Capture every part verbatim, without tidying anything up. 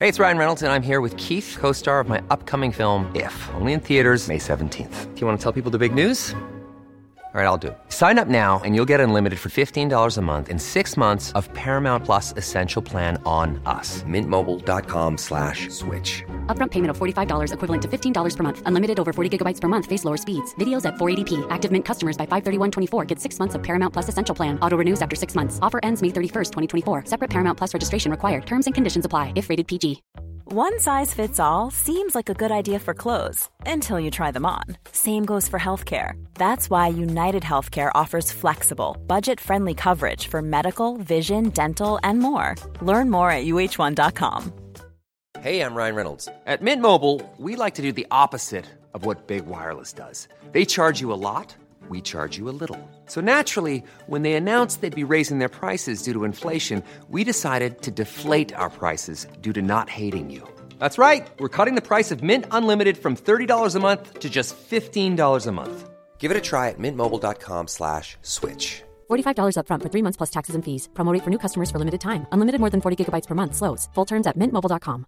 Hey, it's Ryan Reynolds, and I'm here with Keith, co-star of my upcoming film, If, only in theaters May seventeenth. Do you want to tell people the big news? All right, I'll do it. Sign up now and you'll get unlimited for fifteen dollars a month and six months of Paramount Plus Essential Plan on us. Mint Mobile dot com slash switch. Upfront payment of forty-five dollars equivalent to fifteen dollars per month. Unlimited over forty gigabytes per month. Face lower speeds. Videos at four eighty p. Active Mint customers by five thirty-one twenty-four get six months of Paramount Plus Essential Plan. Auto renews after six months. Offer ends May thirty-first, twenty twenty-four. Separate Paramount Plus registration required. Terms and conditions apply if rated P G. One size fits all seems like a good idea for clothes until you try them on. Same goes for healthcare. That's why United Healthcare offers flexible, budget-friendly coverage for medical, vision, dental, and more. Learn more at U H one dot com. Hey, I'm Ryan Reynolds. At Mint Mobile, we like to do the opposite of what Big Wireless does. They charge you a lot, we charge you a little. So naturally, when they announced they'd be raising their prices due to inflation, we decided to deflate our prices due to not hating you. That's right. We're cutting the price of Mint Unlimited from thirty dollars a month to just fifteen dollars a month. Give it a try at mintmobile.com slash switch. forty-five dollars up front for three months plus taxes and fees. Promo rate for new customers for limited time. Unlimited more than forty gigabytes per month. Slows full terms at mint mobile dot com.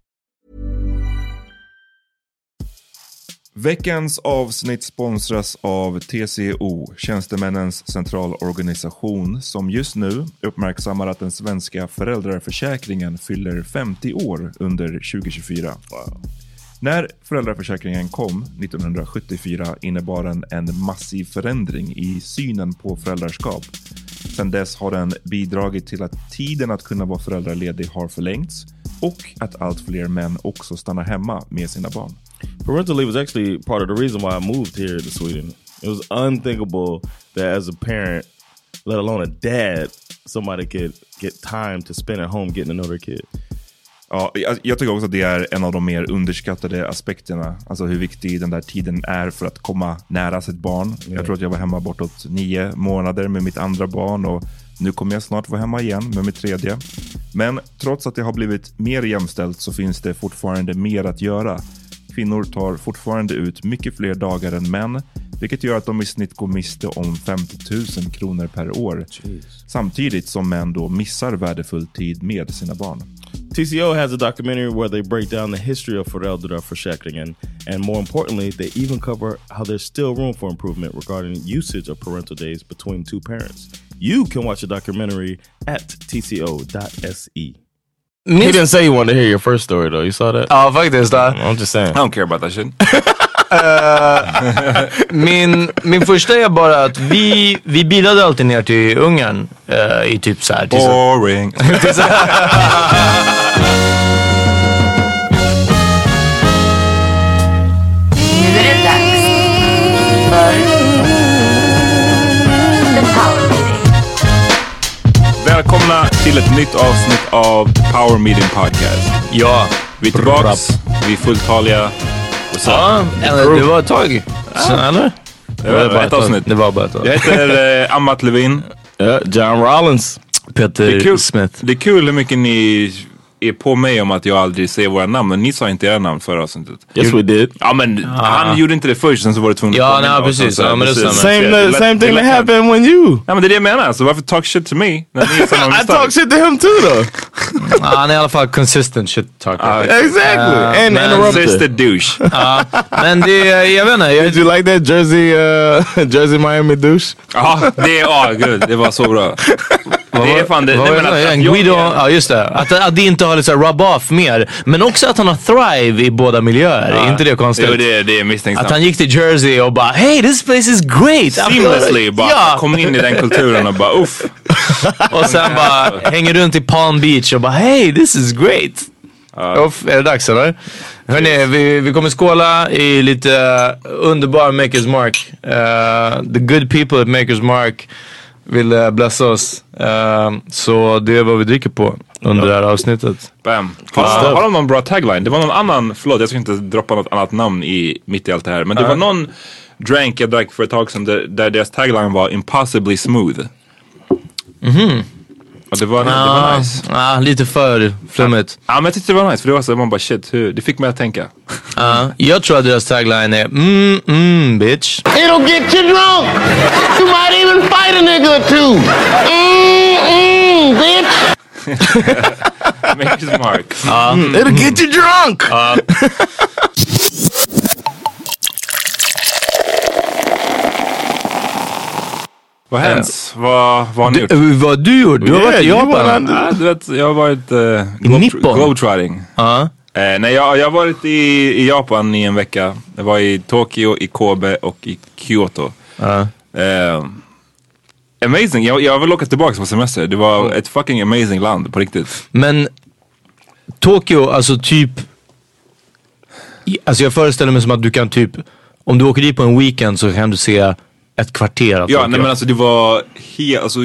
Veckans avsnitt sponsras av T C O, Tjänstemännens centralorganisation, som just nu uppmärksammar att den svenska föräldraförsäkringen fyller femtio år under tjugo tjugofyra. Wow. När föräldraförsäkringen kom nittonhundrasjuttiofyra innebar den en massiv förändring i synen på föräldraskap. Sedan dess har den bidragit till att tiden att kunna vara föräldraledig har förlängts och att allt fler män också stannar hemma med sina barn. Parental leave was actually part of the reason why I moved here to Sweden. It was unthinkable that as a parent, let alone a dad, somebody could get time to spend at home getting to know their kid. Ja, jag, jag tycker också att det är en av de mer underskattade aspekterna. Alltså hur viktig den där tiden är för att komma nära sitt barn. Yeah. Jag tror att jag var hemma bortåt nio månader med mitt andra barn och nu kommer jag snart vara hemma igen med mitt tredje. Men trots att det har blivit mer jämställt så finns det fortfarande mer att göra. Kvinnor tar fortfarande ut mycket fler dagar än män, vilket gör att de i snitt går miste om femtio tusen kronor per år. Jeez. Samtidigt som män då missar värdefull tid med sina barn. T C O has a documentary where they break down the history of föräldraförsäkringen, and more importantly, they even cover how there's still room for improvement regarding usage of parental days between two parents. You can watch the documentary at t c o dot s e. Min... He didn't say he wanted to hear your first story though. You saw that? Ja, faktiskt. Uh, I'm just saying. I don't care about that shit. uh, min, min första är bara att vi, vi bilade alltid ner till Ungern uh, i typ så här. Boring. Välkomna till ett nytt avsnitt av Power Meeting Podcast. Ja, vi är tillbaks, vi är fulltaliga. Ja, eller det var ett tag. Så, eller? Det var, det var ett avsnitt. Det var bara ett tag. Jag heter eh, Amat Levin. Ja, John Rollins. Peter det är kul, Smith. Det är kul hur mycket ni är på mig om att jag aldrig säger våra namn. Men ni sa inte era namn förra avsnittet. Yes we did. Ja men ah. han gjorde inte det först, sen så var det tvungen ja, nej, precis. Ja, men det same, same, same thing that happened when you. Ja men det är det jag menar. Så varför talk shit to me? I talk shit to him too though. Han är i alla fall consistent shit talker. Uh, exactly. Uh, And interrupted douche. uh, men det, jag vet inte. Jag, did you like that Jersey, uh, Jersey Miami douche? Ja, det är oh, good. Det var så bra. Det är fan det. Nej, men att, att Guido, ja just det. Att, att det inte har liksom rub off mer. Men också att han har thrive i båda miljöer. Ja. Är inte det konstigt? Jo, det, det är misstänksamt. Att han gick till Jersey och bara hey, this place is great. Seamlessly bara ja. Kom in i den kulturen och bara uff. Och sen bara hänger runt i Palm Beach och bara hey, this is great. Uh. Uff, är det dags eller? Hörrni, vi, vi kommer skåla i lite uh, underbar Maker's Mark. Uh, the good people at Maker's Mark vill uh, blessa oss. Uh, så det är vad vi dricker på under ja. Det här avsnittet. Bam. Har, har de någon bra tagline? Det var någon annan, förlåt jag ska inte droppa något annat namn i, mitt i allt det här. Men det uh. var någon drank jag drack för ett tag sedan där, där deras tagline var impossibly smooth. Mhm. Och det var, ah, det var nice. Ah, lite för flummigt. Ja, ah, men jag tyckte det var nice för det var så man bara shit, hur, det fick mig att tänka. uh, jag tror att deras tagline är mm, mm, bitch. It'll get you drunk. You might even fight a nigga or two. Mm, mm, bitch. Maker's Mark. Ja. Mm. It'll get you drunk! Ja. Vad har hänt? Vad, vad har ni gjort? Du, vad har du gjort? Du har Yeah, varit i you Japan. Ja, du vet, jag har varit uh, Nippon? globetrotting. Ja. Eh, nej, jag, jag har varit i, i Japan i en vecka. Jag var i Tokyo, i Kobe och i Kyoto. Ja. Eh, amazing. Jag, jag vill åka tillbaka på semester. Det var ett fucking amazing land på riktigt. Men Tokyo, alltså typ... Alltså jag föreställer mig som att du kan typ... Om du åker dit på en weekend så kan du se ett kvarter av Ja, Tokyo. nej men alltså det var helt... Alltså,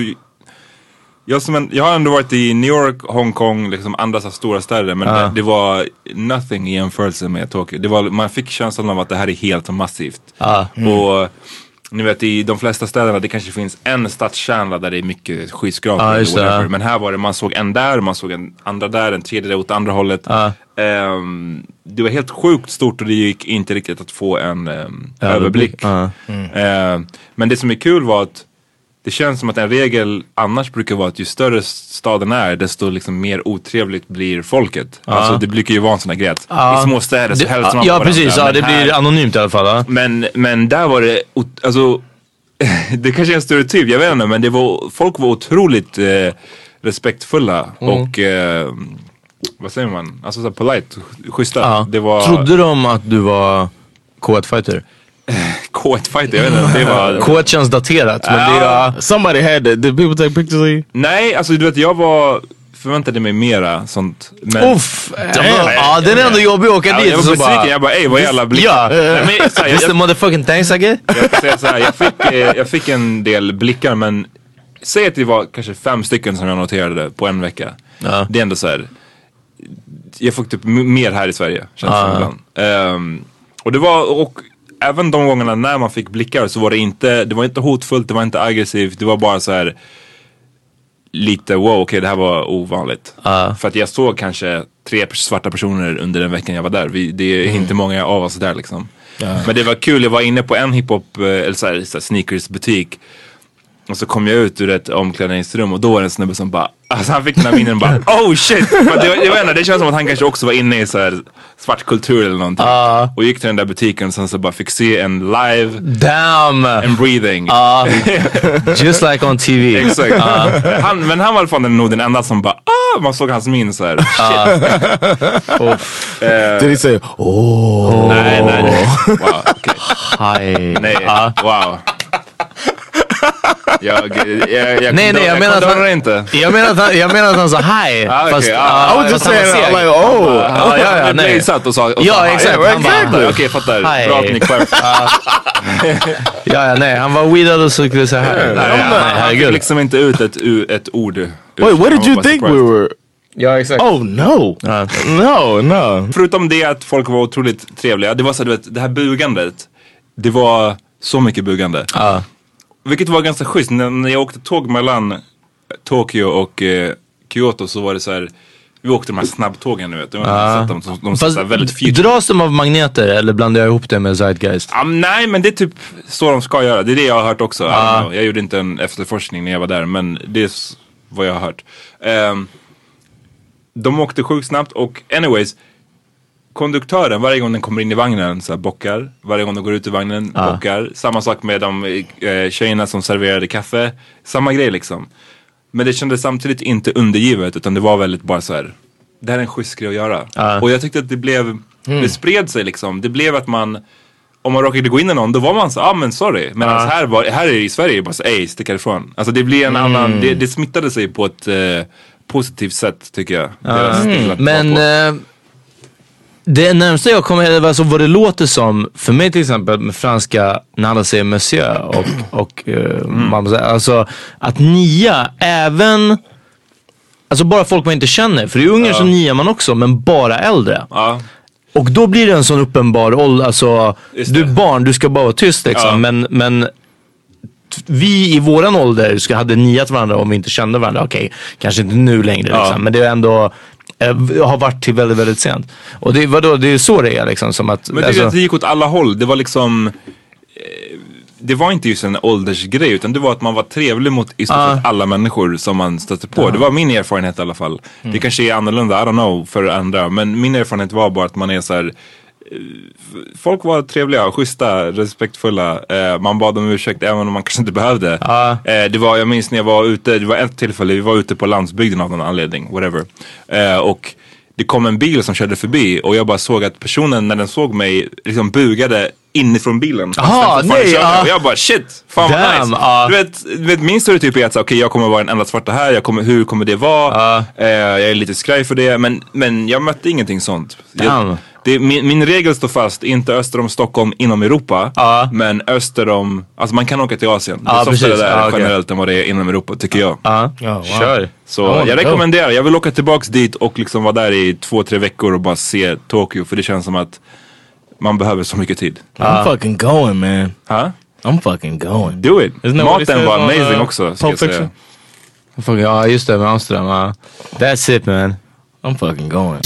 jag, som en, jag har ändå varit i New York, Hongkong, liksom andra så stora städer. Men Ah. det, det var nothing i jämförelse med Tokyo. Det var, man fick känslan av att det här är helt massivt. Ah. Och ni vet, i de flesta städerna det kanske finns en stadskärna där det är mycket skyskrapor Ah, eller just det, whatever. ja. Men här var det, man såg en där, man såg en andra där, en tredje där åt andra hållet. Ah. Ehm, det var helt sjukt stort och det gick inte riktigt att få en um, överblick. Ah. Ehm, men det som är kul var att det känns som att en regel annars brukar vara att ju större staden är desto liksom mer otrevligt blir folket. Alltså det brukar ju vara en sån här grej att Ja. i små städer så Det- hälsar man Ja, på precis. varandra, Ja, det men här- blir anonymt i alla fall. Ja. men, men där var det, ot- alltså det kanske är en stereotyp, jag vet inte, men det var, folk var otroligt eh, respektfulla och eh, vad säger man? Alltså så polite, schyssta. Ja. Det var Trodde de att du var K ett-fighter? K ett-fighter, jag vet inte. Det var... K ett känns daterat, men det är... Somebody had that. Did people take pictures of you? Nej, alltså du vet, jag var förväntade mig mera sånt. Men... Uff! Ja, den är ändå jobbig att åka Ja, dit. jag var och så besviken, bara, jag bara ey vad jävla blick. Ja, Nej, men, så här, just the jag, motherfucking thanks I get. jag, jag, säga så här, jag, fick, eh, jag fick en del blickar men säg att det var kanske fem stycken som jag noterade på en vecka. Ja. Det är ändå så här. Jag fick typ m- mer här i Sverige känns Ja. det som ibland. Ehm, och det var, och även de gångerna när man fick blickar så var det inte, det var inte hotfullt, det var inte aggressivt, det var bara så här lite wow, okej okay, det här var ovanligt. Ja. För att jag såg kanske tre svarta personer under den veckan jag var där. Vi, det är inte många av oss där liksom. Men det var kul, jag var inne på en hiphop, eh, eller så här, så här sneakers butik. Och så kom jag ut ur ett omklädningsrum och då var det en snubbe som bara, alltså han fick den här minen och bara, oh shit! Men det, jag vet inte, det känns som att han kanske också var inne i så här svart kultur eller någonting. Uh. Och gick till den där butiken och sen så bara fick se en live Damn! and breathing. Ja, just like on T V. Exakt. Han, men han var i alla fall nog den enda som bara, ah! Man såg hans min så här, shit. Eh, Did he say, oh? nej, nej, nej. Wow, okej. Hi. Nej, wow. Jag, jag, jag Nej, nej, jag menar att kondonar han- inte. Jag menar att han, jag menar att han sa hi. Ah, okej, fast, ah, ja, I was just fast han var saying, seg. I'm like, oh. Ja, ja, ja, Du nej. blev satt och sa, och Ja, sa, exakt. ja, Han bara, exactly. Okej, fattar. Hi. Bra att ni clarify. Ja, ja, nej. Han var weedad och så skulle säga här. Nej, nej, Han fick herregud. liksom inte ut ett, ett ord. Wait, what Han did var you bara think we surprised. were? Ja, exakt. Oh no, Ja. no, no. Förutom det att folk var otroligt trevliga. Det var så du vet, det här bugandet. Det var så mycket bugande. Ja. Vilket var ganska schysst. När, när jag åkte tåg mellan Tokyo och eh, Kyoto så var det så här. Vi åkte de här snabbtågen nu vet du. Ja. De, de, de Fast så här väldigt future. dras de av magneter eller blandar jag ihop det med Zeitgeist? Ah, nej men det är typ så de ska göra. Det är det jag har hört också. I don't know. Jag gjorde inte en efterforskning när jag var där. Men det är s- vad jag har hört. Um, de åkte sjukt snabbt och anyways. Konduktören varje gång den kommer in i vagnen så här, bockar. Varje gång de går ut ur vagnen Ja. bockar. Samma sak med de eh, tjejerna som serverade kaffe. Samma grej liksom. Men det kändes samtidigt inte undergivet. Utan det var väldigt bara så här. Det här är en schysst grej att göra. Ja. Och jag tyckte att det blev. Det spred sig liksom. Det blev att man. Om man råkade gå in i någon, då var man så, ah men sorry. Men alltså, här, var, här i Sverige är det bara så, ej stick härifrån. Alltså det blir en annan, det, det smittade sig på ett eh, positivt sätt tycker jag. Deras stil att Men vara på. eh, det närmsta jag kommer, alltså vad det låter som, för mig till exempel med franska, när alla säger monsieur och, och eh, mamma säger, alltså att nia, även, alltså bara folk man inte känner, för i Ungern så niar man också, men bara äldre. Ja, Och då blir det en sån uppenbar ålder, alltså Just du är det. barn, du ska bara vara tyst liksom. Ja. Men, men t- vi i våran ålder ska hade niat varandra om vi inte kände varandra. Okej, kanske inte nu längre Ja. liksom, men det är ändå eh, har varit till väldigt, väldigt sent. Och det, vadå, det är så det är liksom som att men det, alltså, det gick åt alla håll. Det var liksom eh, det var inte just en åldersgrej, utan det var att man var trevlig mot i stort sett uh. alla människor som man stötte på. Uh. Det var min erfarenhet i alla fall. Mm. Det kanske är annorlunda, I don't know, för andra. Men min erfarenhet var bara att man är så här. Folk var trevliga, schyssta, respektfulla. eh, Man bad om ursäkt även om man kanske inte behövde. uh. eh, Det var, jag minns när jag var ute, det var ett tillfälle, vi var ute på landsbygden av någon anledning, whatever. eh, Och det kom en bil som körde förbi och jag bara såg att personen när den såg mig liksom bugade inifrån bilen. Aha, nej, uh. Och jag bara shit, fan vad nice. uh. Du vet, du vet, min stereotyp är att okej, okay, jag kommer vara en enda svarta här, jag kommer, hur kommer det vara? uh. eh, Jag är lite skraj för det. Men, men jag mötte ingenting sånt. jag, det, min, min regel står fast, inte öster om Stockholm inom Europa, uh. men öster om, alltså man kan åka till Asien. Det är uh, softare där uh, okay. generellt än vad det är inom Europa, tycker jag. uh. oh, wow. Kör. Så oh, jag rekommenderar, jag vill åka tillbaks dit och liksom vara där i två, tre veckor och bara se Tokyo, för det känns som att man behöver så mycket tid. uh. I'm fucking going, man. Huh? I'm fucking going. Do it. Maten var amazing uh, också, ska jag säga. Ja, just det, med Amsterdam. uh. That's it, man. I'm fucking going.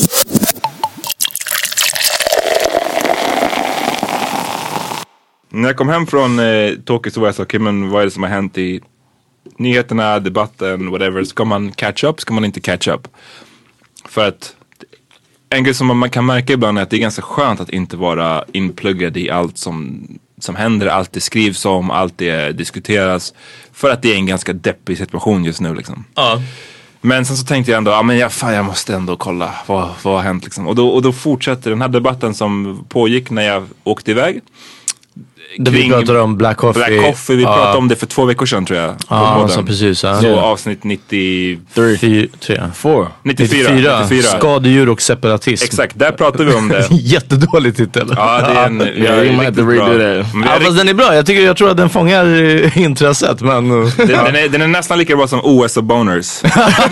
När jag kom hem från eh, Tokyo så var jag så, okej, okay, men vad är det som har hänt i nyheterna, debatten, whatever. Ska man catch up, ska man inte catch up? För att en grej som man kan märka ibland är att det är ganska skönt att inte vara inpluggad i allt som, som händer, allt det skrivs om, allt det diskuteras. För att det är en ganska deppig situation just nu liksom. Ja. Men sen så tänkte jag ändå, ja men jag, fan, jag måste ändå kolla vad, vad har hänt liksom. Och då, och då fortsätter den här debatten som pågick när jag åkte iväg. Det vi pratade om Black Coffee. Black Coffee, vi pratade uh. om det för två veckor sedan tror jag. Ja, så precis. Uh. Så yeah. avsnitt nittiofyra. nittiofyra. nittiofyra. Skadedjur och separatism. Exakt, där pratade vi om det. Jättedålig titel. Ja, det är en... Jag är riktigt bra. Ja, fast den är bra. Jag, tycker, jag tror att den fångar intresset. Men... den, den, är, den är nästan lika bra som O S och Boners.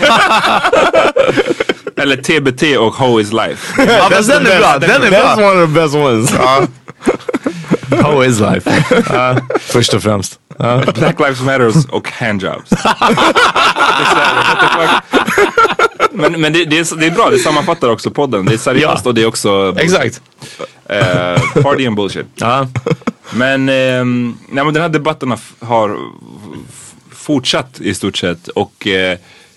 Eller T B T och How is Life. Ja, fast den är bra. Den är bra. That's one of the best ones. Ja. How is life? Uh, först och främst. Uh. Black Lives Matters och handjobs. men men det, det, är, det är bra, det sammanfattar också podden. Det är seriöst ja. Och det är också... Exakt. Uh, party and bullshit. Uh. Men, um, nej, men den här debatten har fortsatt i stort sett. Och... Uh,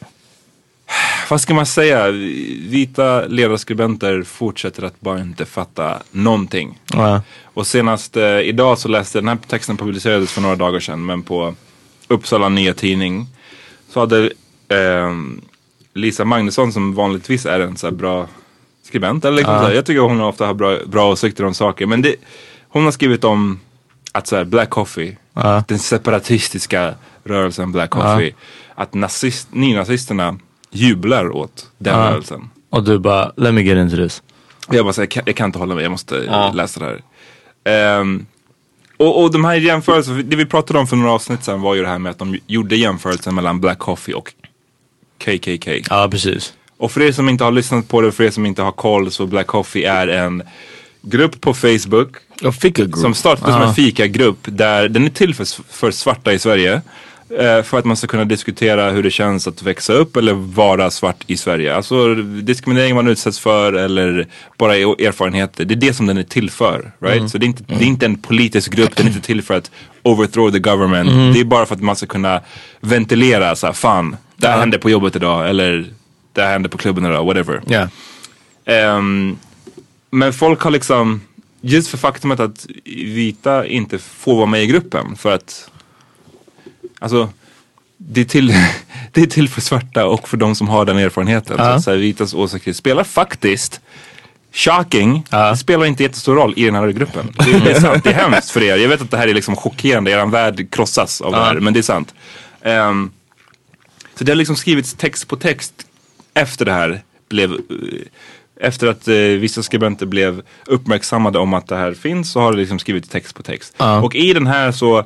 vad ska man säga? Vita ledarskribenter fortsätter att bara inte fatta någonting. Ja. Och senast eh, idag så läste den här texten publicerades för några dagar sedan, men på Uppsala Nya Tidning så hade eh, Lisa Magnusson, som vanligtvis är en så här bra skribent, eller liksom, ja. så här, jag tycker hon ofta har bra, bra åsikter om saker, men det, hon har skrivit om att så här, Black Coffee, ja. den separatistiska rörelsen Black Coffee, ja. att nazist, nynazisterna jublar åt den ja. rörelsen. Och du bara, let me get into this. Jag bara säger, jag, jag kan inte hålla mig, jag måste ja. läsa det här. Um, och, och de här jämförelserna, det vi pratade om för några avsnitt sedan var ju det här med att de gjorde jämförelsen mellan Black Coffee och K K K. Ja, precis. Och för er som inte har lyssnat på det, för er som inte har koll, så Black Coffee är en grupp på Facebook som startade som en fikagrupp, där den är till för, för svarta i Sverige. För att man ska kunna diskutera hur det känns att växa upp eller vara svart i Sverige. Alltså diskriminering man utsätts för eller bara erfarenheter. Det är det som den är till för, right? Mm. Så det är, inte, det är inte en politisk grupp, den är inte till för att overthrow the government. Mm. Det är bara för att man ska kunna ventilera så här, fan, det här ja. hände på jobbet idag, eller det här hände på klubben idag, whatever. Yeah. Um, men folk har liksom, just för faktumet att vita inte får vara med i gruppen, för att alltså, det är, till, det är till för svarta och för de som har den erfarenheten. Uh. Så att så här, vitas åsikter spelar faktiskt, shocking, uh. det spelar inte jättestor roll i den här gruppen. Det, det är sant, det är hemskt för er. Jag vet att det här är liksom chockerande, er värld krossas av uh. det här, men det är sant. Um, så det har liksom skrivits text på text efter det här blev... Efter att eh, vissa skribenter blev uppmärksammade om att det här finns, så har det liksom skrivit text på text. Uh. Och i den här så...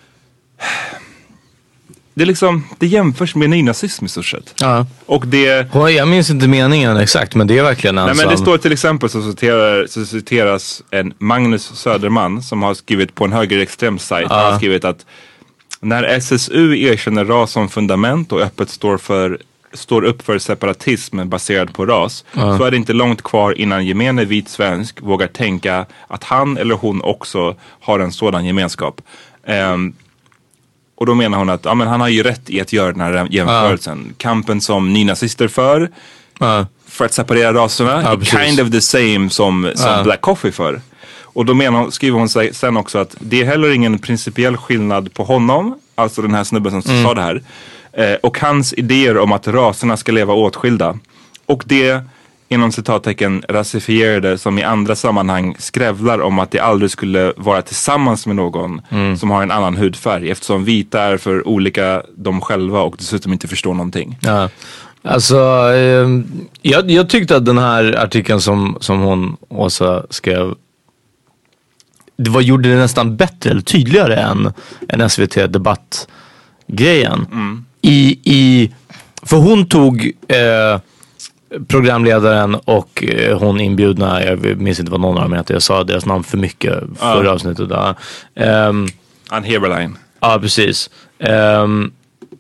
Det är liksom, det jämförs med nynazism i stort sett. Ja. Och det... Jag minns inte meningen exakt, men det är verkligen en. Nej, men det står till exempel så, citerar, så citeras en Magnus Söderman som har skrivit på en högerextrem sajt. Ja. Han har skrivit att när S S U erkänner ras som fundament och öppet står för står upp för separatism baserad på ras, uh. så är det inte långt kvar innan gemene vit svensk vågar tänka att han eller hon också har en sådan gemenskap. Um, och då menar hon att ja, men han har ju rätt i att göra den här jämförelsen. Uh. Kampen som nynazister för uh. för att separera raserna uh, är kind of the same som, som uh. Black Coffee för. Och då menar hon, skriver hon sig sen också att det är heller ingen principiell skillnad på honom, alltså den här snubben som mm. sa det här, eh, och hans idéer om att raserna ska leva åtskilda. Och det, inom citattecken, rasifierade som i andra sammanhang skrävlar om att det aldrig skulle vara tillsammans med någon mm. som har en annan hudfärg, eftersom vita är för olika de själva och dessutom inte förstår någonting. Ja. Alltså, eh, jag, jag tyckte att den här artikeln som, som hon, Åsa, skrev, det var, gjorde det nästan bättre eller tydligare än en S V T-debattgrejen. Mm. I, i, för hon tog eh, programledaren och eh, hon inbjudna, jag minns inte vad någon av dem heter, jag sa deras namn för mycket förra uh. avsnittet. Där. Um, Ann Heberlein. Ja, precis. Um,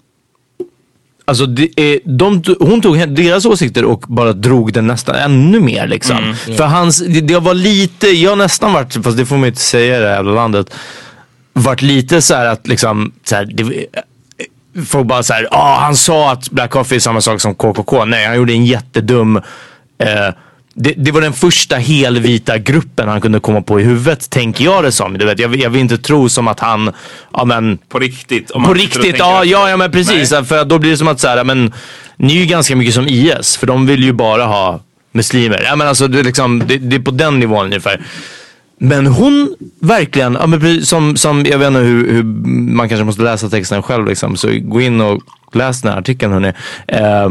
Alltså det är, de, hon tog deras åsikter och bara drog den nästan ännu mer liksom. Mm, yeah. För hans, det, det var lite, jag nästan varit, fast det får man inte säga i det här jävla landet, varit lite så här att liksom så här, det, folk bara så här, ah, han sa att Black Coffee är samma sak som K K K. Nej, han gjorde en jättedum eh, Det, det var den första helvita gruppen han kunde komma på i huvudet, tänker jag det som. Du vet, jag, jag vill inte tro som att han, ja men... På riktigt? På riktigt, ja, ja, ja men precis. Nej. För då blir det som att så här, men ni är ju ganska mycket som I S, för de vill ju bara ha muslimer. Ja men alltså, det är, liksom, det, det är på den nivån ungefär. Men hon verkligen, ja, men som, som, jag vet inte hur, hur man kanske måste läsa texten själv liksom, så gå in och läs den här artikeln, hörni. Eh,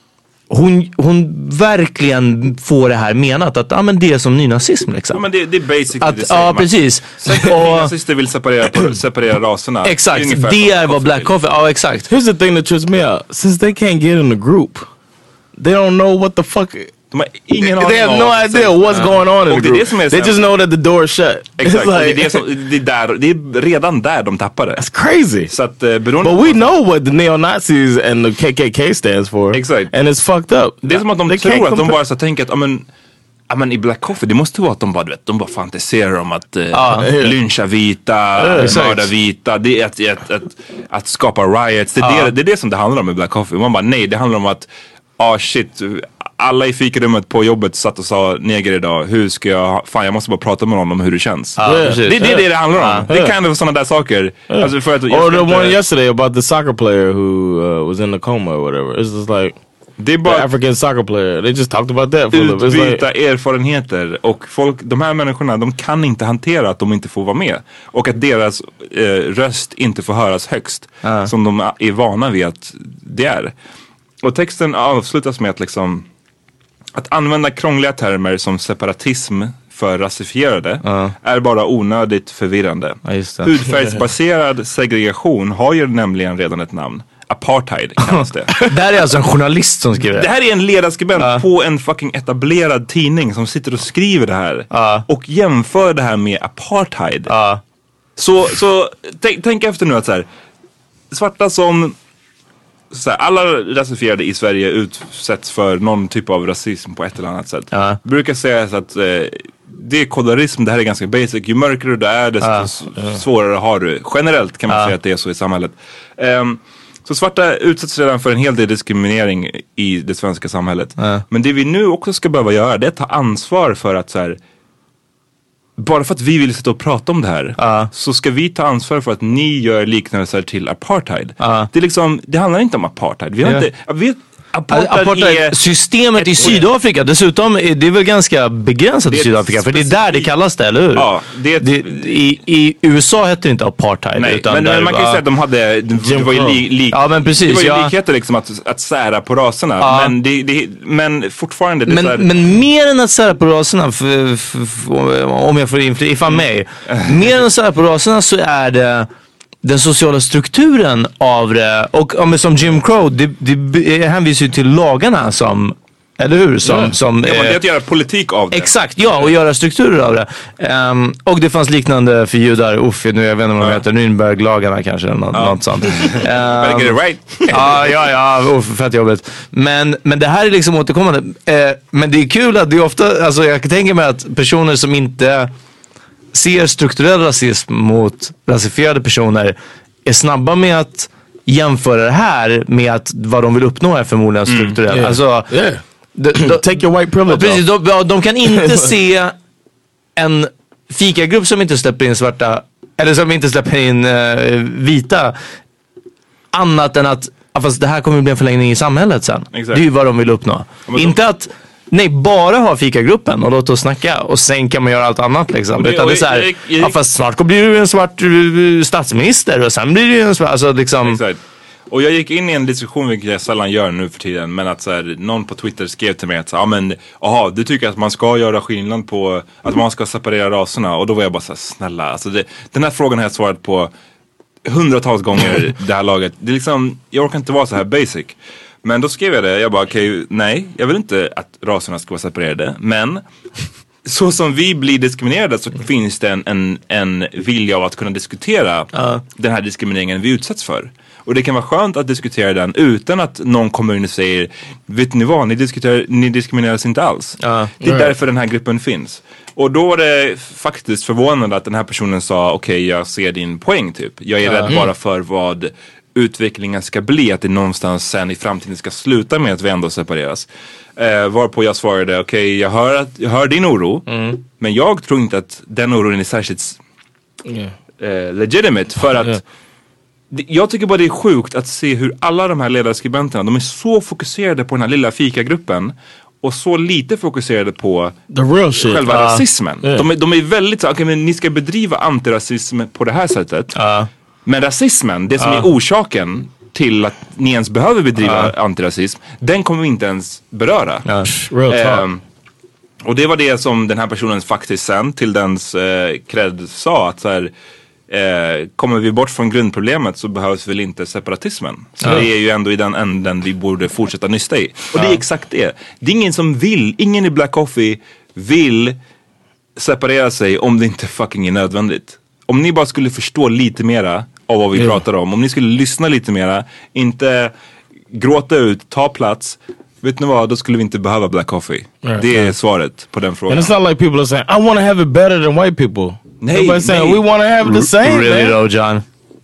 Hon, hon verkligen får det här menat att ah, men det är som nynazism liksom. Ja, men det, det är basically att, det same. Ja, precis. Nynazister vill separera, separera raserna. Exakt, det, det är vad Black Coffee, ja exakt. Here's the thing that trips me out. Since they can't get in the group, they don't know what the fuck... De har ingen they have no idea what's going on in the group. Det det they just know that the door is shut. Exakt, like, det, är det, som, det, är där, det är redan där de tappar det. That's crazy. Så att, uh, But we know what the neo-Nazis and the K K K stands for. Exakt. And it's fucked up. Det är som att de they tror att de bara så tänker att amen, amen, i Black Coffee, det måste vara att de bara, vet, de bara fantiserar om att uh, ah, lyncha vita, uh, mörda vita. Det är att, att, att, att skapa riots. Det är, ah. det, det är det som det handlar om i Black Coffee. Man bara, nej, det handlar om att ah shit, alla i fikarummet på jobbet satt och sa neger idag, hur ska jag, fan jag måste bara prata med honom om hur det känns. Ah, yeah. Det är det, det det handlar om. Yeah. Det är kind of sådana där saker. Yeah. Alltså för att, Or the one yesterday about the soccer player who uh, was in the coma or whatever. It's just like det är bara the African soccer player. They just talked about that. Utbyta like erfarenheter. Och folk, de här människorna, de kan inte hantera att de inte får vara med. Och att deras eh, röst inte får höras högst. Uh. Som de är vana vid att det är. Och texten avslutas med att liksom att använda krångliga termer som separatism för rasifierade uh. är bara onödigt förvirrande. Ja, hudfärgsbaserad segregation har ju nämligen redan ett namn. Apartheid kallas det. Det här är alltså en journalist som skriver det. Det här är en ledarskribent uh. på en fucking etablerad tidning som sitter och skriver det här. Uh. Och jämför det här med apartheid. Uh. Så, så tänk, tänk efter nu att så här, svarta som... Så här, alla rasifierade i Sverige utsätts för någon typ av rasism på ett eller annat sätt. Uh. Brukar säga att eh, det är kolorism, det här är ganska basic. Ju mörkare du är, desto uh. svårare har du. Generellt kan man uh. säga att det är så i samhället. Um, så svarta utsätts redan för en hel del diskriminering i det svenska samhället. Uh. Men det vi nu också ska behöva göra, det är att ta ansvar för att så här, bara för att vi vill sitta och prata om det här uh. så ska vi ta ansvar för att ni gör liknelser till apartheid. Uh. Det är liksom, det handlar inte om apartheid. Vi har yeah. inte, vi, apartheid, apartheid är systemet i Sydafrika. Dessutom är det väl ganska begränsat i Sydafrika. För det är där det kallas det, eller hur? Ja, det är ett, det, i, I U S A heter det inte apartheid. Nej, utan men, men man kan ju säga att de hade det var ju li, li, ja, men precis, det var ju ja. likheter liksom att, att sära på raserna. Ja. Men, det, det, men fortfarande det men, så här, men mer än att sära på raserna för, för, för, om jag får inflytta mig mer än att sära på raserna så är det den sociala strukturen av det. Och ja, som Jim Crow, det, det hänvisar ju till lagarna som Eller hur? Som, ja. som, ja, eh, det är att göra politik av det. Exakt, ja, och göra strukturer av det. Um, och det fanns liknande för judar, uff, nu jag vet inte vad de ja. heter, Nürnberglagarna kanske, något, ja. något sånt. Um, Better get it right. ja, ja, ja, uff, fett jobbigt. Men, men det här är liksom återkommande. Uh, men det är kul att det är ofta, alltså jag kan tänka mig att personer som inte ser strukturell rasism mot rasifierade personer är snabba med att jämföra det här med att vad de vill uppnå är förmodligen strukturellt. Mm, yeah. Alltså, yeah. De, de, take your white privilege. Precis, de, de kan inte se en fikagrupp som inte släpper in svarta, eller som inte släpper in uh, vita, annat än att fast det här kommer bli en förlängning i samhället sen. Exakt. Det är ju vad de vill uppnå. Ja, inte de... att nej, bara ha fikagruppen och låt oss snacka och sen kan man göra allt annat liksom. Det, Utan det är så här, jag, jag, jag, ja, fast snart blir du en svart uh, statsminister och sen blir du en svart, alltså liksom. Exakt. Och jag gick in i en diskussion, vilket jag sällan gör nu för tiden, men att så här, någon på Twitter skrev till mig att ja men, aha, du tycker att man ska göra skillnad på, att man ska separera raserna, och då var jag bara så här, snälla, alltså det, den här frågan har jag svarat på hundratals gånger det här laget. Det är liksom, jag orkar inte vara så här basic. Men då skrev jag det, jag bara okej, okay, nej, jag vill inte att raserna ska vara separerade, men så som vi blir diskriminerade så finns det en, en, en vilja av att kunna diskutera uh. den här diskrimineringen vi utsätts för. Och det kan vara skönt att diskutera den utan att någon kommun säger, vet ni vad, ni, diskuterar, ni diskrimineras inte alls. Uh, det är right. därför den här gruppen finns. Och då var det faktiskt förvånande att den här personen sa, okej, okay, jag ser din poäng typ. Jag är uh. rädd bara för vad utvecklingen ska bli, att det någonstans sen i framtiden ska sluta med att vi ändå separeras. Eh, varpå jag svarade, okej, okay, jag, hör att, jag hör din oro, mm. men jag tror inte att den oron är särskilt yeah. eh, legitimate, för att yeah. jag tycker bara det är sjukt att se hur alla de här ledarskribenterna, de är så fokuserade på den här lilla fikagruppen och så lite fokuserade på the real shit. Själva uh, rasismen. Yeah. De, de är väldigt så, okej, okay, men ni ska bedriva antirasism på det här sättet. Uh. Men rasismen, det som uh. är orsaken till att ni ens behöver bedriva uh. antirasism, den kommer vi inte ens beröra. Uh. Real talk. Um, och det var det som den här personen faktiskt sen till dens eh, cred sa, att så här, eh, kommer vi bort från grundproblemet så behövs väl inte separatismen. Så uh. det är ju ändå i den änden vi borde fortsätta nysta i. Och uh. det är exakt det. Det är ingen som vill, ingen i Black Coffee vill separera sig om det inte fucking är nödvändigt. Om ni bara skulle förstå lite mera av vad vi yeah. pratar om. Om ni skulle lyssna lite mera, inte gråta ut, ta plats. Vet ni vad, då skulle vi inte behöva Black Coffee. Right, det är right. svaret på den frågan. And it's not like people are saying, I want to have it better than white people. Nej, Everybody's saying, we want to have the same. Really man. though, John?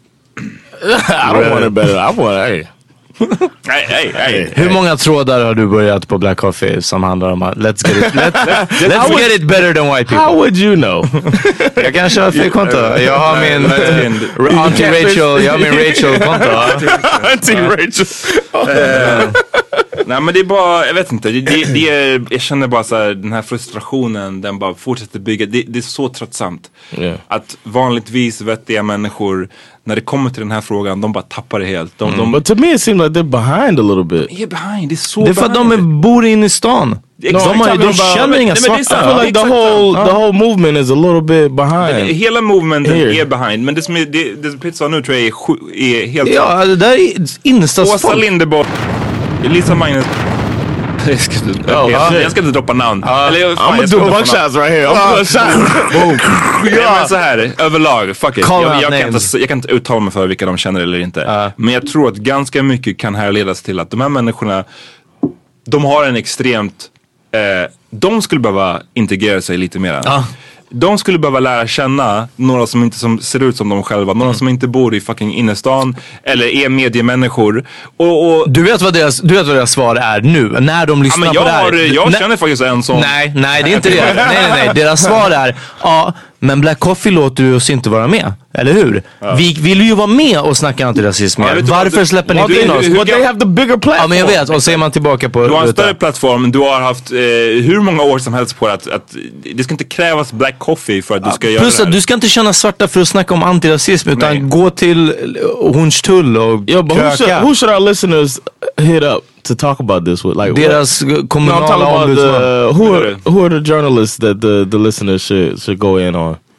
I don't want it better. I want it, hey. Hey, hey, hey, Hur hey. många trådar har du börjat på Black Coffee som handlar om att let's get it, let's, let's would, get it better than white people? How would you know? Jag kanske har fel konto. Jag har min uh, Auntie Rachel, jag har min Rachel-konto. Auntie Rachel. uh, nej men det är bara, jag vet inte, det, det, det är, jag känner bara så här, den här frustrationen, den bara fortsätter bygga, det, det är så tröttsamt. Yeah. Att vanligtvis vettiga människor, när det kommer till den här frågan, de bara tappar det helt. De, mm. de, But to me it seems like they're behind a little bit. De är behind, det är så Det är för att de är, bor inne i stan. No, de har, de känner inga svarta. I feel like the whole, the whole movement is a little bit behind. Hela movementen är behind. Men det som, är, det, det som Pitt sa nu tror jag är, är helt... Ja, det där är innerstadsfolk. Åsa Linderborg, Lisa Magnus. Jag ska, inte, oh, jag, jag ska inte droppa namn. Uh, Eller, jag, fan, I'm gonna do a bunch shots right here. I'm gonna do a shot. Boom. Ja, men så här, överlag, fuck it. Jag, jag, kan inte, jag kan inte uttala mig för vilka de känner eller inte. Uh. Men jag tror att ganska mycket kan härledas till att de här människorna, de har en extremt, eh, de skulle behöva integrera sig lite mer. Uh. De skulle behöva lära känna några som inte som ser ut som de själva. Några mm. som inte bor i fucking innerstan. Eller är mediemänniskor. Och, och du, vet vad deras, du vet vad deras svar är nu. När de lyssnar ja, men jag på det här. Har, jag N- känner faktiskt en som... Nej, nej det är inte det. Nej, nej, nej. Deras svar är, ja, men Black Coffee låter du oss inte vara med. Eller hur? Ja. Vi vill ju vara med och snacka antirasism. Ja, Varför du, släpper ni inte in oss? But they have the bigger platform. Ja, men jag vet. Och så är man tillbaka på... Du har en större plattform. Du har haft eh, hur många år som helst på att, att det ska inte krävas Black Coffee för att du ska ja, göra plus det här. Att du ska inte känna svarta för att snacka om antirasism. Utan nej. Gå till Hornstull och yeah, but who should, who should our listeners hit up to talk about this with? Like, deras kommunala no, ombudsman. Who are, who are the journalists that the, the listeners should, should go in on?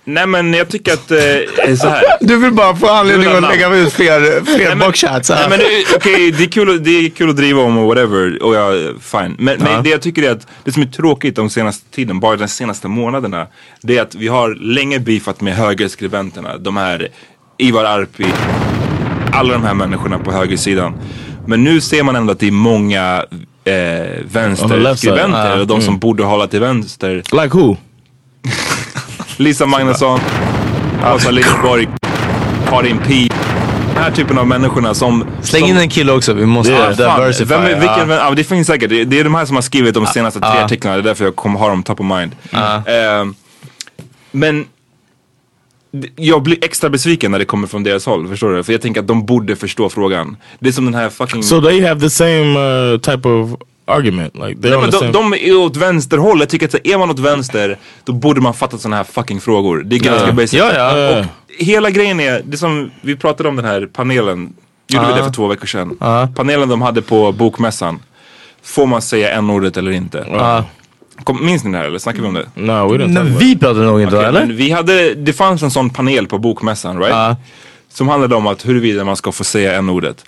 Nej men jag tycker att eh, så här. Du vill bara få anledning att lägga ut fler, fler boxchats. Nej men okej, okay, det, är kul, det är kul att driva om och whatever. Och jag, fine. Men, ja. men det jag tycker är att det som är tråkigt de senaste tiden, bara de senaste månaderna, det är att vi har länge beefat med högerskribenterna. De här Ivar Arpi, alla de här människorna på högersidan. Men nu ser man ändå att det är många eh, vänsterskribenter, uh, de som mm. borde hålla till vänster. Like who? Lisa Magnusson, Åsa Linderborg, Karin P. Den här typen av människorna som... Släng som, in en kille också, vi måste yeah, diversify. Vem, vilken, ja. Vem, ja, det finns säkert, det, det är de här som har skrivit de senaste tre uh. artiklarna, det är därför jag kommer ha dem top of mind. Uh. Uh, men jag blir extra besviken när det kommer från deras håll, förstår du? För jag tänker att de borde förstå frågan. Det är som den här fucking... So they have the same uh, type of... argument. Like, Nej, men de, de är åt vänsterhåll. Jag tycker att är man åt vänster, då borde man fatta sådana här fucking frågor. Det är ganska uh, basic. Ja, ja. Och hela grejen är, det som vi pratade om den här panelen, gjorde uh. vi det för två veckor sedan. Uh. Panelen de hade på bokmässan. Får man säga n-ordet eller inte? Uh. Kom, minns ni det här eller snackar vi om det? No, we don't Nej, vi pratade nog inte, okay, eller? Vi hade, det fanns en sån panel på bokmässan, right? Uh. Som handlade om att huruvida man ska få säga n-ordet.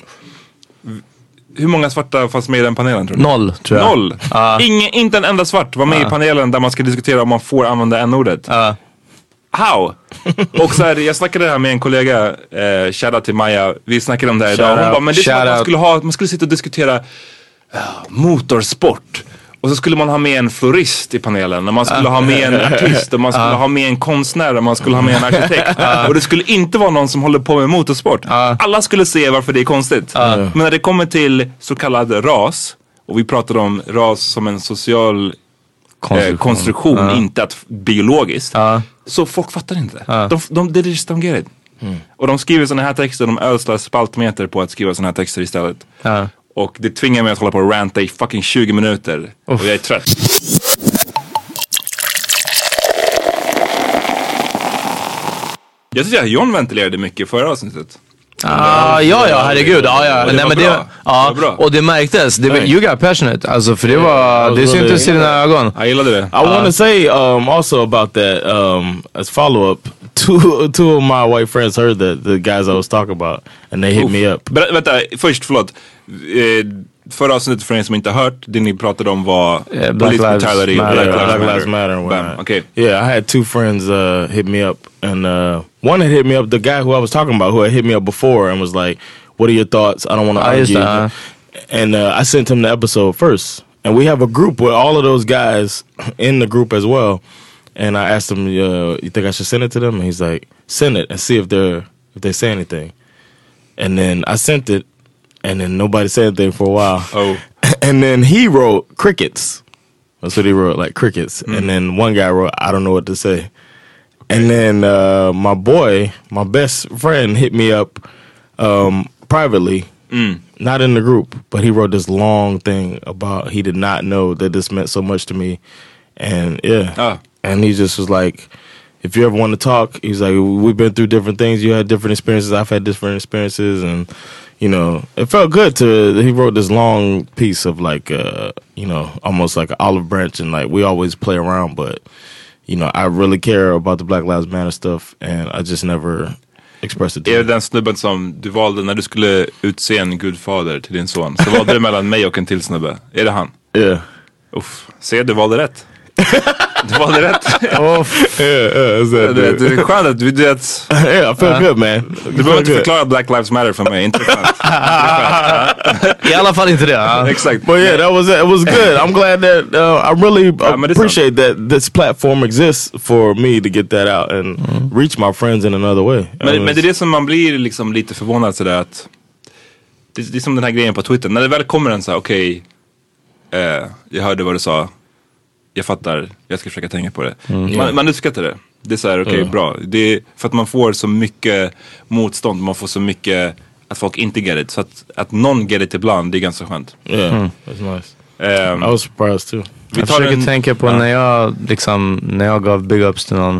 Hur många svarta fanns med i den panelen, tror du? Noll, tror jag. Noll? Uh. Ingen, inte en enda svart var med uh. i panelen där man ska diskutera om man får använda n-ordet. Uh. How? Och så här, jag snackade det här med en kollega, eh, shoutout till Maja. Vi snackade om det här idag. Hon bara, men det är som att man skulle, ha, man skulle sitta och diskutera uh, motorsport. Och så skulle man ha med en florist i panelen. Och man skulle uh. ha med en artist. Och man skulle uh. ha med en konstnär. Och man skulle ha med en arkitekt. Uh. Och det skulle inte vara någon som håller på med motorsport. Uh. Alla skulle se varför det är konstigt. Uh. Men när det kommer till så kallad ras. Och vi pratar om ras som en social konstruktion, eh, konstruktion uh. inte att biologiskt. Uh. Så folk fattar inte. Uh. De, de, de just don't get it. Mm. Och de skriver såna här texter. De ödslar spaltmeter på att skriva såna här texter istället. Uh. Och det tvingar mig att hålla på och ranta i fucking tjugo minuter. Uff. Och jag är trött. Jag tycker att John ventilerade mycket förra avsnittet. Ah, ja, ja, herregud. Ja, ja. Och det Nej, var men bra. Det, ja, det var bra. Och det märktes. Det, you got passionate. Alltså, för det var... Det syntes i dina ögon. Jag gillade det. I uh, want to say um, also about that um, as follow-up. Two, two of my white friends heard that, the guys I was talking about. And they hit Oof. me up. But, vänta, först, förlåt. Eh, förra avsnittet för er som inte har hört, det ni pratade om var yeah, Black Lives Matter. Black Lives Matter. Black Lives Matter. Bam. Okay. Yeah, I had two friends uh, hit me up. And uh, one had hit me up, the guy who I was talking about, who had hit me up before and was like, what are your thoughts? I don't want to argue. Uh, and uh, I sent him the episode first. And we have a group with all of those guys in the group as well. And I asked him, uh, you think I should send it to them? And he's like, send it and see if they're if they say anything. And then I sent it, and then nobody said anything for a while. Oh. And then he wrote crickets. That's what he wrote, like crickets. Mm. And then one guy wrote, I don't know what to say. Okay. And then uh, my boy, my best friend, hit me up um, privately, mm. not in the group, but he wrote this long thing about he did not know that this meant so much to me. And yeah. Oh. And he just was like, if you ever want to talk, he's like, we've been through different things. You had different experiences. I've had different experiences. And, you know, it felt good to, he wrote this long piece of like, uh, you know, almost like an olive branch. And like, we always play around, but, you know, I really care about the Black Lives Matter stuff. And I just never expressed it to Är det den snubben som du valde när du skulle utse en gudfader till din son? Så valde du mellan mig och en till snubbe. Är det han? Ja. Yeah. Uff, se, du valde rätt. Du valde rätt. Oh, yeah, yeah, det, det, det är skönt att du vet. Yeah, I feel uh, good, man. Du behöver inte förklara Black Lives Matter för mig. Inte skönt. I alla fall inte det. Exakt. But yeah, that was it. It was good. I'm glad that uh, I really uh, appreciate that this platform exists for me to get that out and mm. reach my friends in another way. Men, men det är det som man blir liksom lite förvånad sådär att det, det är som den här grejen på Twitter. När det väl kommer en så här, okej, okay, eh, jag hörde vad du sa. Jag fattar, jag ska försöka tänka på det. Mm. Man, man uppskattar det. Det är så här, okej, okay, mm. bra. Det är för att man får så mycket motstånd. Man får så mycket att folk inte get it. Så att, att någon get it ibland, det är ganska skönt. Yeah, mm. That's nice. Um, I was surprised too. Vi jag försöker en, tänka på ja. när jag liksom, när jag gav big ups till någon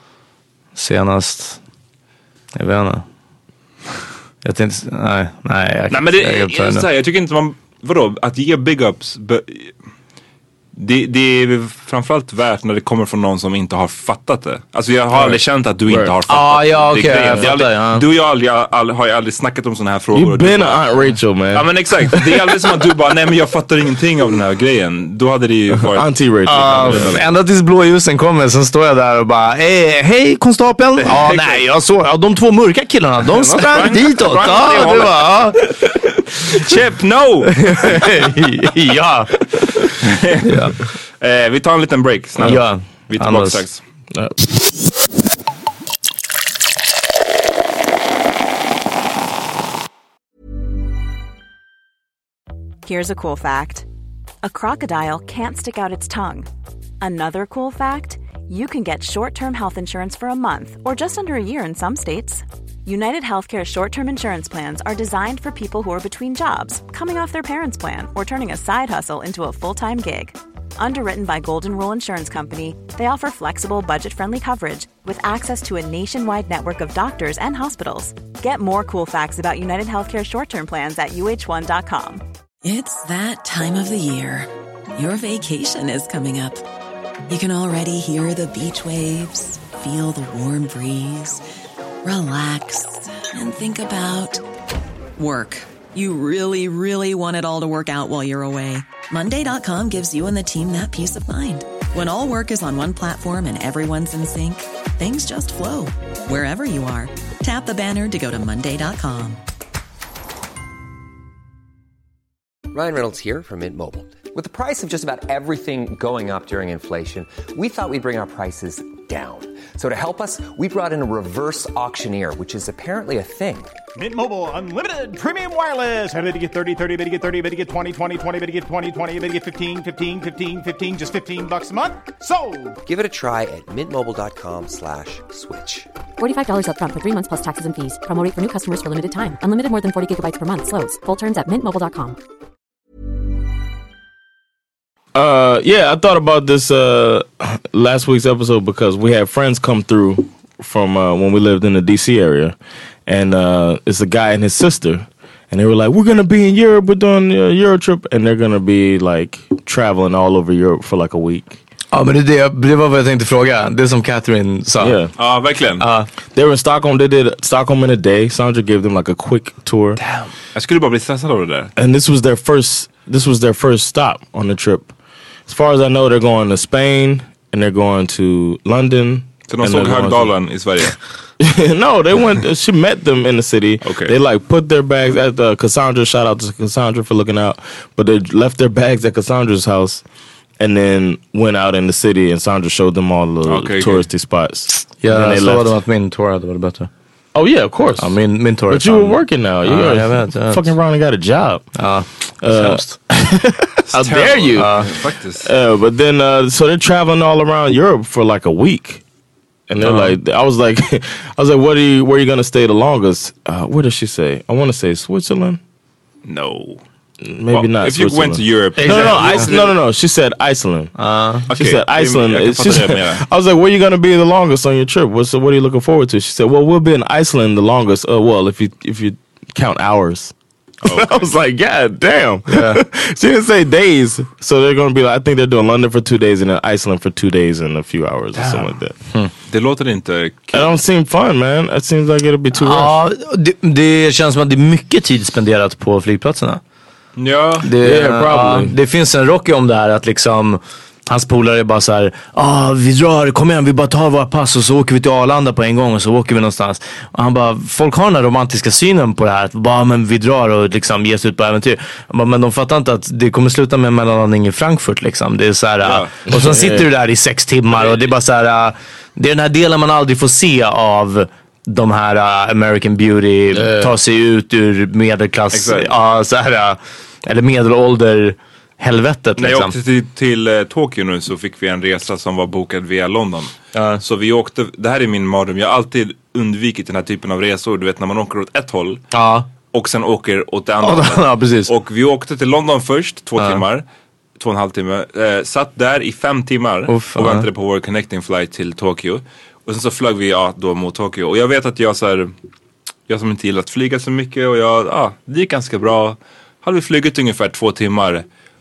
senast. Jag vet inte. Jag tänkte, nej, nej. Jag, nej men det, jag, jag, jag, så här, jag tycker inte man, vadå, att ge big ups... Be, Det, det är framförallt värt när det kommer från någon som inte har fattat det. Alltså jag har aldrig känt att du inte har fattat ah, ja, det. Okay, det, jag det fattar, aldrig, ja. Du och jag aldrig, aldrig, har ju aldrig snackat om såna här frågor. You've been a Aunt Rachel, man. Ja men exakt. Det är aldrig som att du bara, nej men jag fattar ingenting av den här grejen. Då hade det ju varit... Auntie Rachel. Uh, ända tills blåljusen kommer, sen står jag där och bara eh, hej konstapeln. Ja ah, nej jag såg, ja, de två mörka killarna, de sprang ditåt. Ja, det var, ja. Chip, no! Ja. Ja. Eh, vi tar en liten break snabbt. Ja. Vi är tillbaka strax. Ja. Here's a cool fact. A crocodile can't stick out its tongue. Another cool fact, you can get short-term health insurance for a month or just under a year in some states. United Healthcare short-term insurance plans are designed for people who are between jobs, coming off their parents' plan, or turning a side hustle into a full-time gig. Underwritten by Golden Rule Insurance Company, they offer flexible, budget-friendly coverage with access to a nationwide network of doctors and hospitals. Get more cool facts about United Healthcare short-term plans at U H one dot com. It's that time of the year. Your vacation is coming up. You can already hear the beach waves, feel the warm breeze, relax, and think about work. You really, really want it all to work out while you're away. Monday dot com gives you and the team that peace of mind. When all work is on one platform and everyone's in sync, things just flow. Wherever you are, tap the banner to go to Monday dot com. Ryan Reynolds here from Mint Mobile. With the price of just about everything going up during inflation, we thought we'd bring our prices down. So to help us, we brought in a reverse auctioneer, which is apparently a thing. Mint Mobile Unlimited Premium Wireless. How to get thirty, thirty, how to get thirty, how to get twenty, twenty, twenty, how to get twenty, twenty, how to get fifteen, fifteen, fifteen, fifteen, just fifteen bucks a month? Sold! Give it a try at mintmobile.com slash switch. forty-five dollars up front for three months plus taxes and fees. Promo rate for new customers for limited time. Unlimited more than forty gigabytes per month. Slows full terms at mint mobile dot com. Uh, yeah, I thought about this uh, last week's episode because we had friends come through from uh, when we lived in the D C area. And uh, it's a guy and his sister. And they were like, we're going to be in Europe. We're doing a Euro trip. And they're going to be like traveling all over Europe for like a week. Ja, men det, det, det var vad jag tänkte fråga. Det som Catherine sa. Yeah. Ja, verkligen. Uh, they were in Stockholm. They did Stockholm in a day. Sandra gave them like a quick tour. Damn. Jag skulle bara bli stressad av det där. And this was their first, this was their first stop on the trip. As far as I know, they're going to Spain and they're going to London. Så de såg Högdalen i Sverige? No, they went, she met them in the city. Okay. They like put their bags at the Cassandra, shout out to Cassandra for looking out. But they left their bags at Cassandra's house and then went out in the city and Sandra showed them all the okay, touristy okay. spots. Ja, jag sa dem att min tour hade varit bättre. Oh yeah, of course. Ja, min, min tour. But you were working now. You uh, uh, jag vet, jag vet. fucking around and got a job. Ja, uh, how dare you? Uh, faktiskt. Uh, but then, uh, so they're traveling all around Europe for like a week. And they're uh-huh. like, I was like, I was like, what are you, where are you going to stay the longest? Uh, where does she say? I want to say Switzerland. No. Maybe well, not if Switzerland. you went to Europe. No, no, no, Iceland, no, no, no. She said Iceland. Uh, okay. She said Iceland. I, she said, I was like, where are you going to be the longest on your trip? What's, what are you looking forward to? She said, well, we'll be in Iceland the longest. Uh, well, if you if you count hours. Oh, okay. I was like, God damn. Yeah. She didn't say days. So they're going to be like, I think they're doing London for two days and then Iceland for two days and a few hours damn. Or something like that. Hmm. Det låter inte kul. It don't seem fun, man. It seems like it'll be too ja, det, det känns som att det är mycket tid spenderat på flygplatserna. Ja, det, yeah, probably. Uh, det finns en Rocky om det här att liksom hans polare är bara så här, ah, vi drar, kom igen, vi bara tar våra pass och så åker vi till Arlanda på en gång och så åker vi någonstans. Och han bara, folk har den här romantiska synen på det här, att bara, men vi drar och liksom ger sig ut på äventyr. Bara, men de fattar inte att det kommer sluta med en mellanlandning i Frankfurt liksom. Det är så här, ja. Och så sitter du där i sex timmar och det är bara så här, det är den här delen man aldrig får se av de här uh, American Beauty, uh. ta sig ut ur medelklass, ja, uh, så här, uh, eller medelålder helvetet. När liksom. jag åkte till, till uh, Tokyo nu så fick vi en resa som var bokad via London. Uh. Så vi åkte, det här är min mardröm, jag har alltid undvikit den här typen av resor. Du vet när man åker åt ett håll uh. och sen åker åt det andra hållet. Ja, precis. Och vi åkte till London först, två uh. timmar. Två och en halv timme. Uh, satt där i fem timmar Uff, och väntade uh. på vår connecting flight till Tokyo. Och sen så flög vi ja, då mot Tokyo. Och jag vet att jag så här, jag som inte gillar att flyga så mycket och jag, ja, det gick ganska bra. Hade vi flugit ungefär två timmar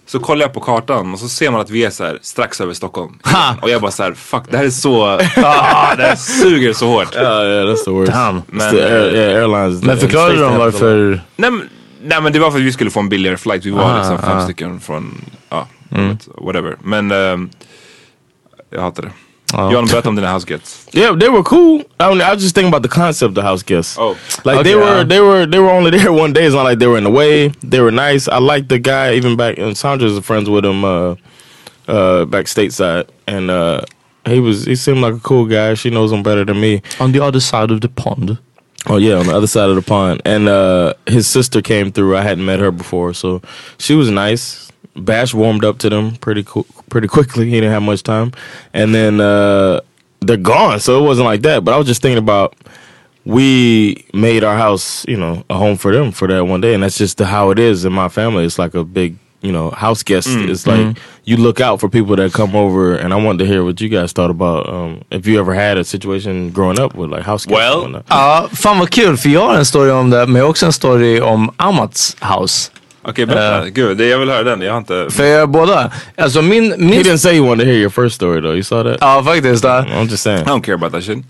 Så kollar jag på kartan och så ser man att vi är så här strax över Stockholm. Ha! Och jag bara så här, fuck, det här är så... ah, det här suger så hårt. Ja, yeah, yeah, that's the worst. Damn. Men, the air, yeah, airlines, men förklarade de varför... Nej men, nej men det var för att vi skulle få en billigare flight. Vi var ah, liksom fem ah. stycken från... Ja, mm. whatever. Men um, jag hatar det. Oh. John, berätta om dina house guests. Yeah, they were cool. I, mean, I was just thinking about the concept of the house guests. Oh, like okay, they were, uh, they were, they were only there one day. It's not like they were in the way. They were nice. I liked the guy even back. And Sandra's friends with him, uh, uh, back stateside, and uh, he was. He seemed like a cool guy. She knows him better than me. On the other side of the pond. Oh yeah, on the other side of the pond. And uh, his sister came through. I hadn't met her before, so she was nice. Bash warmed up to them pretty cool, pretty quickly. He didn't have much time, and then uh, they're gone. So it wasn't like that. But I was just thinking about we made our house, you know, a home for them for that one day, and that's just the, how it is in my family. It's like a big, you know, house guest. Mm. It's like mm. you look out for people that come over, and I wanted to hear what you guys thought about um, if you ever had a situation growing up with like house guests. Well, ja, fan vad kul, för jag har en story om det, men också en story om Amats house. Okej, okay, berätta. Uh, Gud, jag vill höra den. Jag har inte... För jag båda. Alltså min... min... He didn't say you wanted to hear your first story though. You saw that? Ja, faktiskt. Uh, I'm just saying. I don't care about that shit.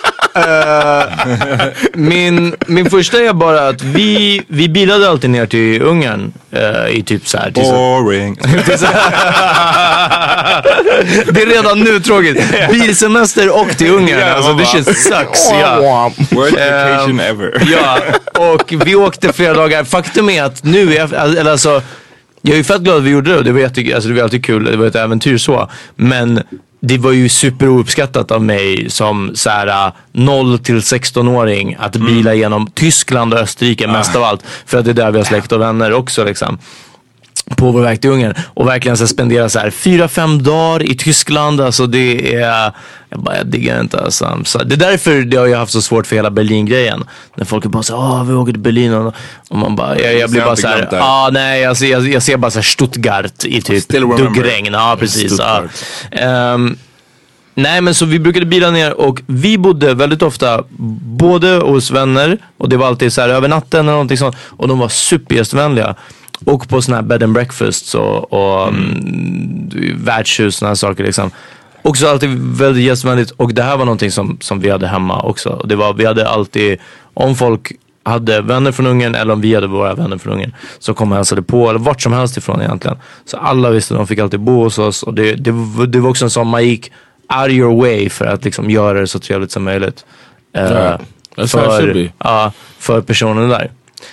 uh, min, min första är bara att vi, vi bilade alltid ner till Ungern uh, i typ så här. Boring. Det är redan nu tråkigt. Bilsemester och till Ungern. Yeah, alltså det shit sucks. Ja. Worst vacation um, ever. Ja, och vi åkte flera dagar. Faktum är att nu är, eller alltså, jag är fett glad att vi gjorde det. Det var, jätte, alltså det var alltid kul. Det var ett äventyr så. Men det var ju superouppskattat av mig som så här noll till sexton-åring att bila mm. genom Tyskland och Österrike mest ah. av allt. För att det är där vi har släkt och vänner också liksom. På vår väg till Ungern. Och verkligen så spendera så här fyra, fem dagar i Tyskland. Alltså det är... Jag bara, jag diggar inte alltså. Så det är därför det har jag haft så svårt för hela Berlin-grejen. När folk är bara så åh vi åker till Berlin. Och, och man bara, jag, jag blir bara så här, ah, nej, alltså, jag, jag ser bara så här Stuttgart i typ duggregn. Ja, precis. Ja. Um, nej, men så vi brukade bila ner och vi bodde väldigt ofta både hos vänner och det var alltid så här över natten eller någonting sånt. Och de var supergästvänliga. Och på såna här bed and breakfast och, och mm. värdshus, såna här saker liksom. Också alltid väldigt gästvänligt. Och det här var någonting som, som vi hade hemma också. Och det var, vi hade alltid, om folk hade vänner från Ungern eller om vi hade våra vänner från Ungern, så kom och hälsade på, eller vart som helst ifrån egentligen. Så alla visste att de fick alltid bo hos oss. Och det, det, det var också en sån, man gick out of your way för att liksom göra det så trevligt som möjligt. Yeah. Uh, för, uh, för personen där.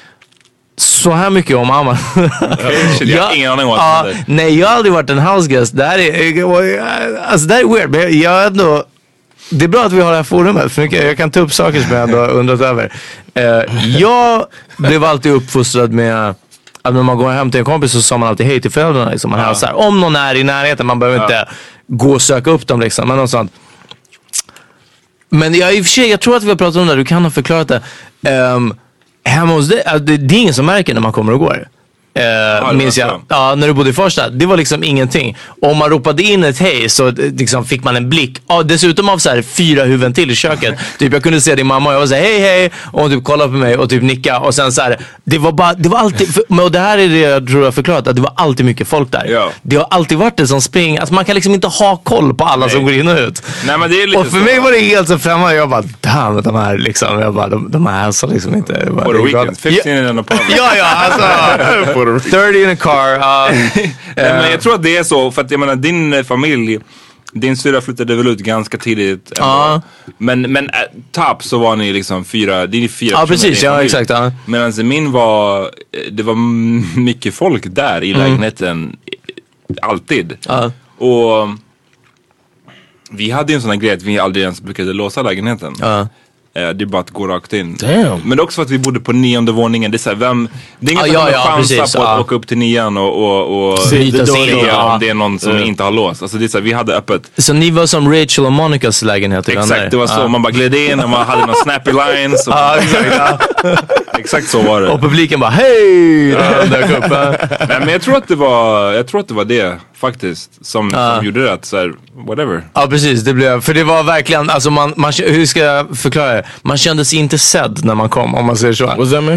Så här mycket om Amma. Okay, jag har ingen aning om uh, det. Nej, jag har aldrig varit en house guest. Det här är, alltså, det här är weird. Men jag ändå, det är bra att vi har det här forumet. För jag kan ta upp saker som jag ändå har undrat över. Uh, jag blev alltid uppfostrad med att när man går hem till en kompis så sa man alltid hej till föräldrarna. Liksom. Man uh. hälsar. Om någon är i närheten, man behöver uh. inte gå och söka upp dem. Liksom. Men, något sånt. Men jag, i och för sig, jag tror att vi har pratat om det. Du kan ha förklarat det. Um, Hemma hos det, det, det är ingen som märker när man kommer och går. Uh, ja, minns jag. Ja, när du bodde i Farsta. Det var liksom ingenting. Om man ropade in ett hej så liksom fick man en blick. Ja, dessutom av så här fyra huvuden till i köket. Typ jag kunde se din mamma och jag var så här, hej hej. Och hon typ kollade på mig och typ nicka. Och sen så här, det var bara, det var alltid, och det här är det jag tror jag förklarat, att det var alltid mycket folk där. Ja. Det har alltid varit det som spring. Alltså man kan liksom inte ha koll på alla Nej. som går in och ut. Nej, men det är lite och för så. mig var det helt så främmande. Jag bara, damn, de här liksom. Jag bara, de, de här hälsar liksom inte. På the weekend, fifteen in an apartment. Ja, ja, alltså. thirty in a car. Uh, Nej, men jag tror att det är så. För att jag menar, din familj, din syra flyttade väl ut ganska tidigt. Uh. Men, men äh, tapp så var ni liksom fyra, det är fyra Ja, uh, precis, ja, exakt. Uh. Medan min var, det var mycket folk där i mm. lägenheten. Alltid. Uh. Och vi hade ju en sån här grej att vi aldrig ens brukade låsa lägenheten. Uh. Det är bara att gå rakt in. Damn. Men det är också för att vi bodde på nionde våningen. Det är så här, vem, det är ingen ah, som ja, har chansa precis, på att ah. åka upp till nian och, och, och se om det är någon som uh. inte har låst. Alltså det är så här, vi hade öppet. Så ni var som Rachel och Monicas lägenhet? Exakt, det var så. Ah. Man bara gled in och man hade några snappy lines. Och ah, exakt, exakt så var det. Och publiken bara, hej! Ja. Nej, men jag tror att det var, jag tror att det var det faktiskt som, ah. som gjorde det att så här, whatever. Ja, precis, det blev, för det var verkligen, alltså man, man, hur ska jag förklara det? Man kände sig inte sedd när man kom, om man säger så. Vad säger du?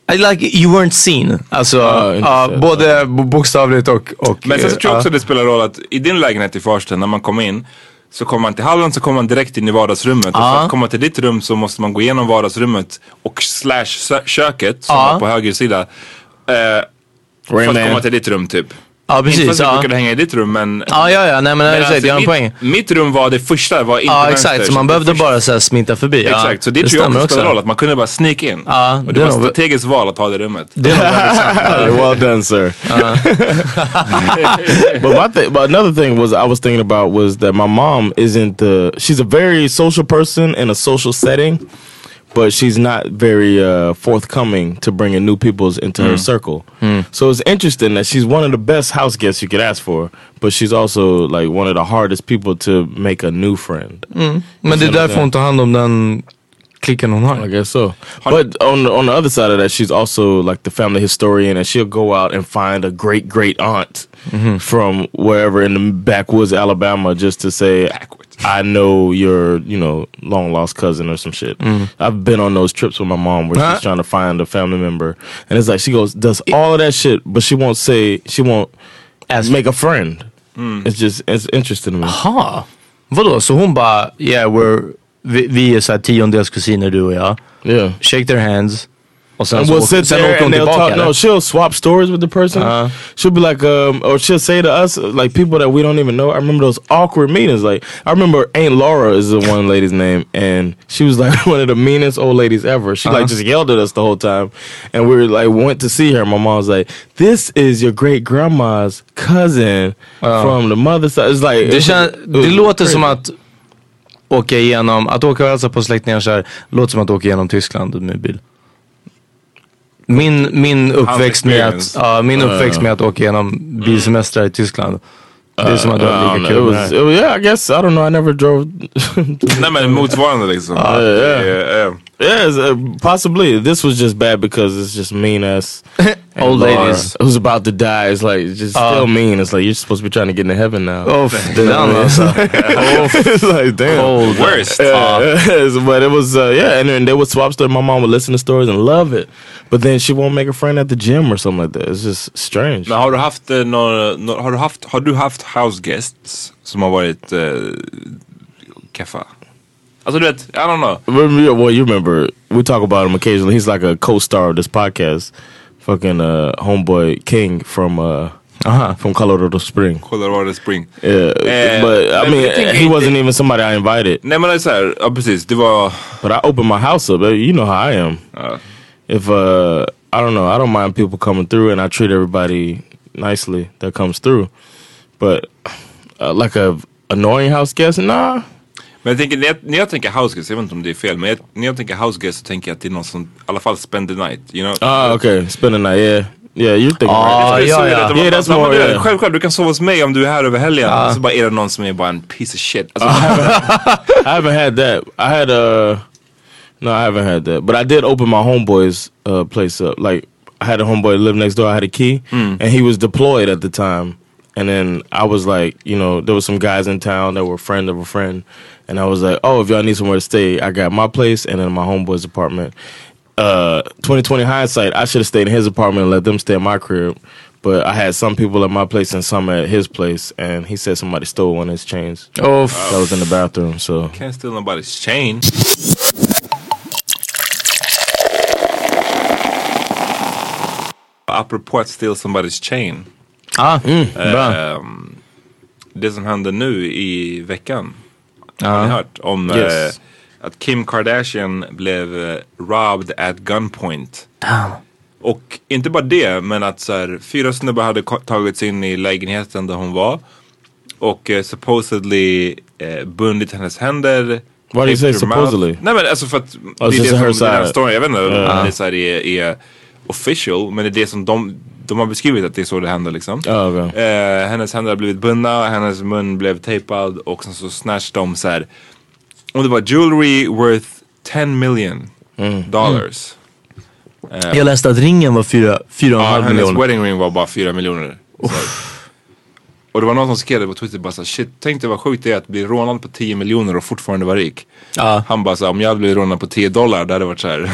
I like you weren't seen. Alltså uh, uh, både bokstavligt och, och men sen så tror jag också uh, det spelar roll att i din lägenhet i Farsta, när man kommer in så kommer man till hallen, så kommer man direkt in i vardagsrummet. Uh. Och för att komma till ditt rum så måste man gå igenom vardagsrummet och slash köket som uh. är på höger sida. Uh, för att komma till ditt rum typ. Ja, precis. Inte för att ja. du brukade hänga i ditt rum, men... Ja, ja, ja. Nej, men, men alltså, det är en mitt, poäng. Mitt rum var det första, var inte ja, vänster. exakt. Så man behövde bara så här sminta förbi. Exakt, ja. så det, det tror jag också spelar roll. Att man kunde bara sneak in. Ja, och det, det var ett strategiskt val att ha det rummet. Det är uh, well done, sir. Uh. but, my th- but another thing was I was thinking about was that my mom isn't... Uh, she's a very social person in a social setting. But she's not very uh, forthcoming to bringing new peoples into mm. her circle. Mm. So it's interesting that she's one of the best house guests you could ask for. But she's also like one of the hardest people to make a new friend. Mm. Men det är därför hon tar hand om den klicken hon har. I guess so. But on, on the other side of that, she's also like the family historian. And she'll go out and find a great, great aunt mm-hmm. from wherever in the backwoods Alabama just to say... Backwards. I know your, you know, long lost cousin or some shit. Mm. I've been on those trips with my mom where she's trying to find a family member, and it's like she goes does all of that shit, but she won't say she won't as make a friend. Mm. It's just it's interesting to me. Aha, vadå? Så hon bara, yeah, we're vi, vi är så här tiondels kusiner du och jag. Yeah, shake their hands. And so we'll sit there and they'll talk. No, she'll swap stories with the person. Uh, she'll be like, um, or she'll say to us, like people that we don't even know. I remember those awkward meetings. Like, I remember Aunt Laura is the one lady's name, and she was like one of the meanest old ladies ever. She uh-huh. like just yelled at us the whole time, and we were like went to see her. My mom was like, "This is your great grandma's cousin uh, from the mother side." It's like det, kän, det låter crazy. Som att åka igenom, att åka och hälsa på släktingar så här, låter som att åka igenom Tyskland med bil. Min, min uppväxt med att, uh, min uppväxt med att åka igenom bilsemestrar i Tyskland. Det är som att det var lika kul. Was, it, yeah, I guess, I don't know, I never drove. Nej men motsvarande liksom. Uh, yeah, yeah. yeah. yeah uh, possibly. This was just bad because it's just mean ass old ladies who's about to die. It's like, it's just uh, still mean. It's like, you're supposed to be trying to get into heaven now. Oh, damn. It's like, damn. Cold. Worst. Uh, uh. But it was, uh, yeah, and then they would swap stories. My mom would listen to stories and love it. But then she won't make a friend at the gym or something like that. It's just strange. Men har du haft uh, några, no, har du haft, har du haft house guests som har varit uh, keffa? Alltså du vet, I don't know. Well, you remember, we talk about him occasionally. He's like a co-star of this podcast. Fucking uh, homeboy King from uh, uh-huh. from Colorado Spring. Colorado Spring. Yeah, uh, but I mean, he wasn't even somebody I invited. Nej men det är såhär, ja precis, det var... But I opened my house up, you know how I am. Uh. If, uh, I don't know, I don't mind people coming through and I treat everybody nicely that comes through. But uh, like a annoying house guest, nah. Men jag tänker, när jag, när jag tänker house guest, jag vet inte om det är fel, men jag, när jag tänker house guest så tänker jag att det är någon som i alla fall spend the night, you know? Ah, okay, spend the night, yeah. Yeah, you're thinking ah, right. Ja, ja. Yeah, that's more, yeah. Självklart, du kan sova hos mig om du är här över helgen. Ah. Så bara är det någon som är bara en piece of shit. Alltså, I, haven't, I haven't had that. I had a... No, I haven't had that. But I did open my homeboy's uh, place up. Like, I had a homeboy live next door. I had a key. Mm. And he was deployed at the time. And then I was like, you know, there was some guys in town that were a friend of a friend. And I was like, oh, if y'all need somewhere to stay, I got my place and then my homeboy's apartment. Uh, twenty twenty hindsight, I should have stayed in his apartment and let them stay in my crib. But I had some people at my place and some at his place. And he said somebody stole one of his chains. Oh, that was in the bathroom, so. Can't steal nobody's chain. Apropå att steal somebody's chain. Ah, mm, uh, um, det som hände nu i veckan. Ah. Har ni hört om yes. uh, att Kim Kardashian blev uh, robbed at gunpoint. Ah. Och inte bara det, men att så här, fyra snubbar hade tagits in i lägenheten där hon var. Och uh, supposedly uh, bundit hennes händer. Why do you say supposedly? Mouth. Nej men alltså för att oh, det är det som den här storyn, jag vet inte om uh. det så här är, är official, men det är det som de, de har beskrivit att det är så det händer liksom. Oh, okay. eh, hennes händer har blivit bundna, hennes mun blev tejpad och sen så snatched de så här. Och det var jewelry worth ten million mm. dollars. Mm. Eh, Jag läste att ringen var fyra, fyra och en ja, halv hennes miljoner. wedding ring var bara fyra miljoner. Och det var någon som skrev det på Twitter bara så shit, tänk dig vad sjukt det är att bli rånad på tio miljoner och fortfarande vara rik. Ja. Han bara så om jag hade blivit rånad på tio dollar, det hade varit så här.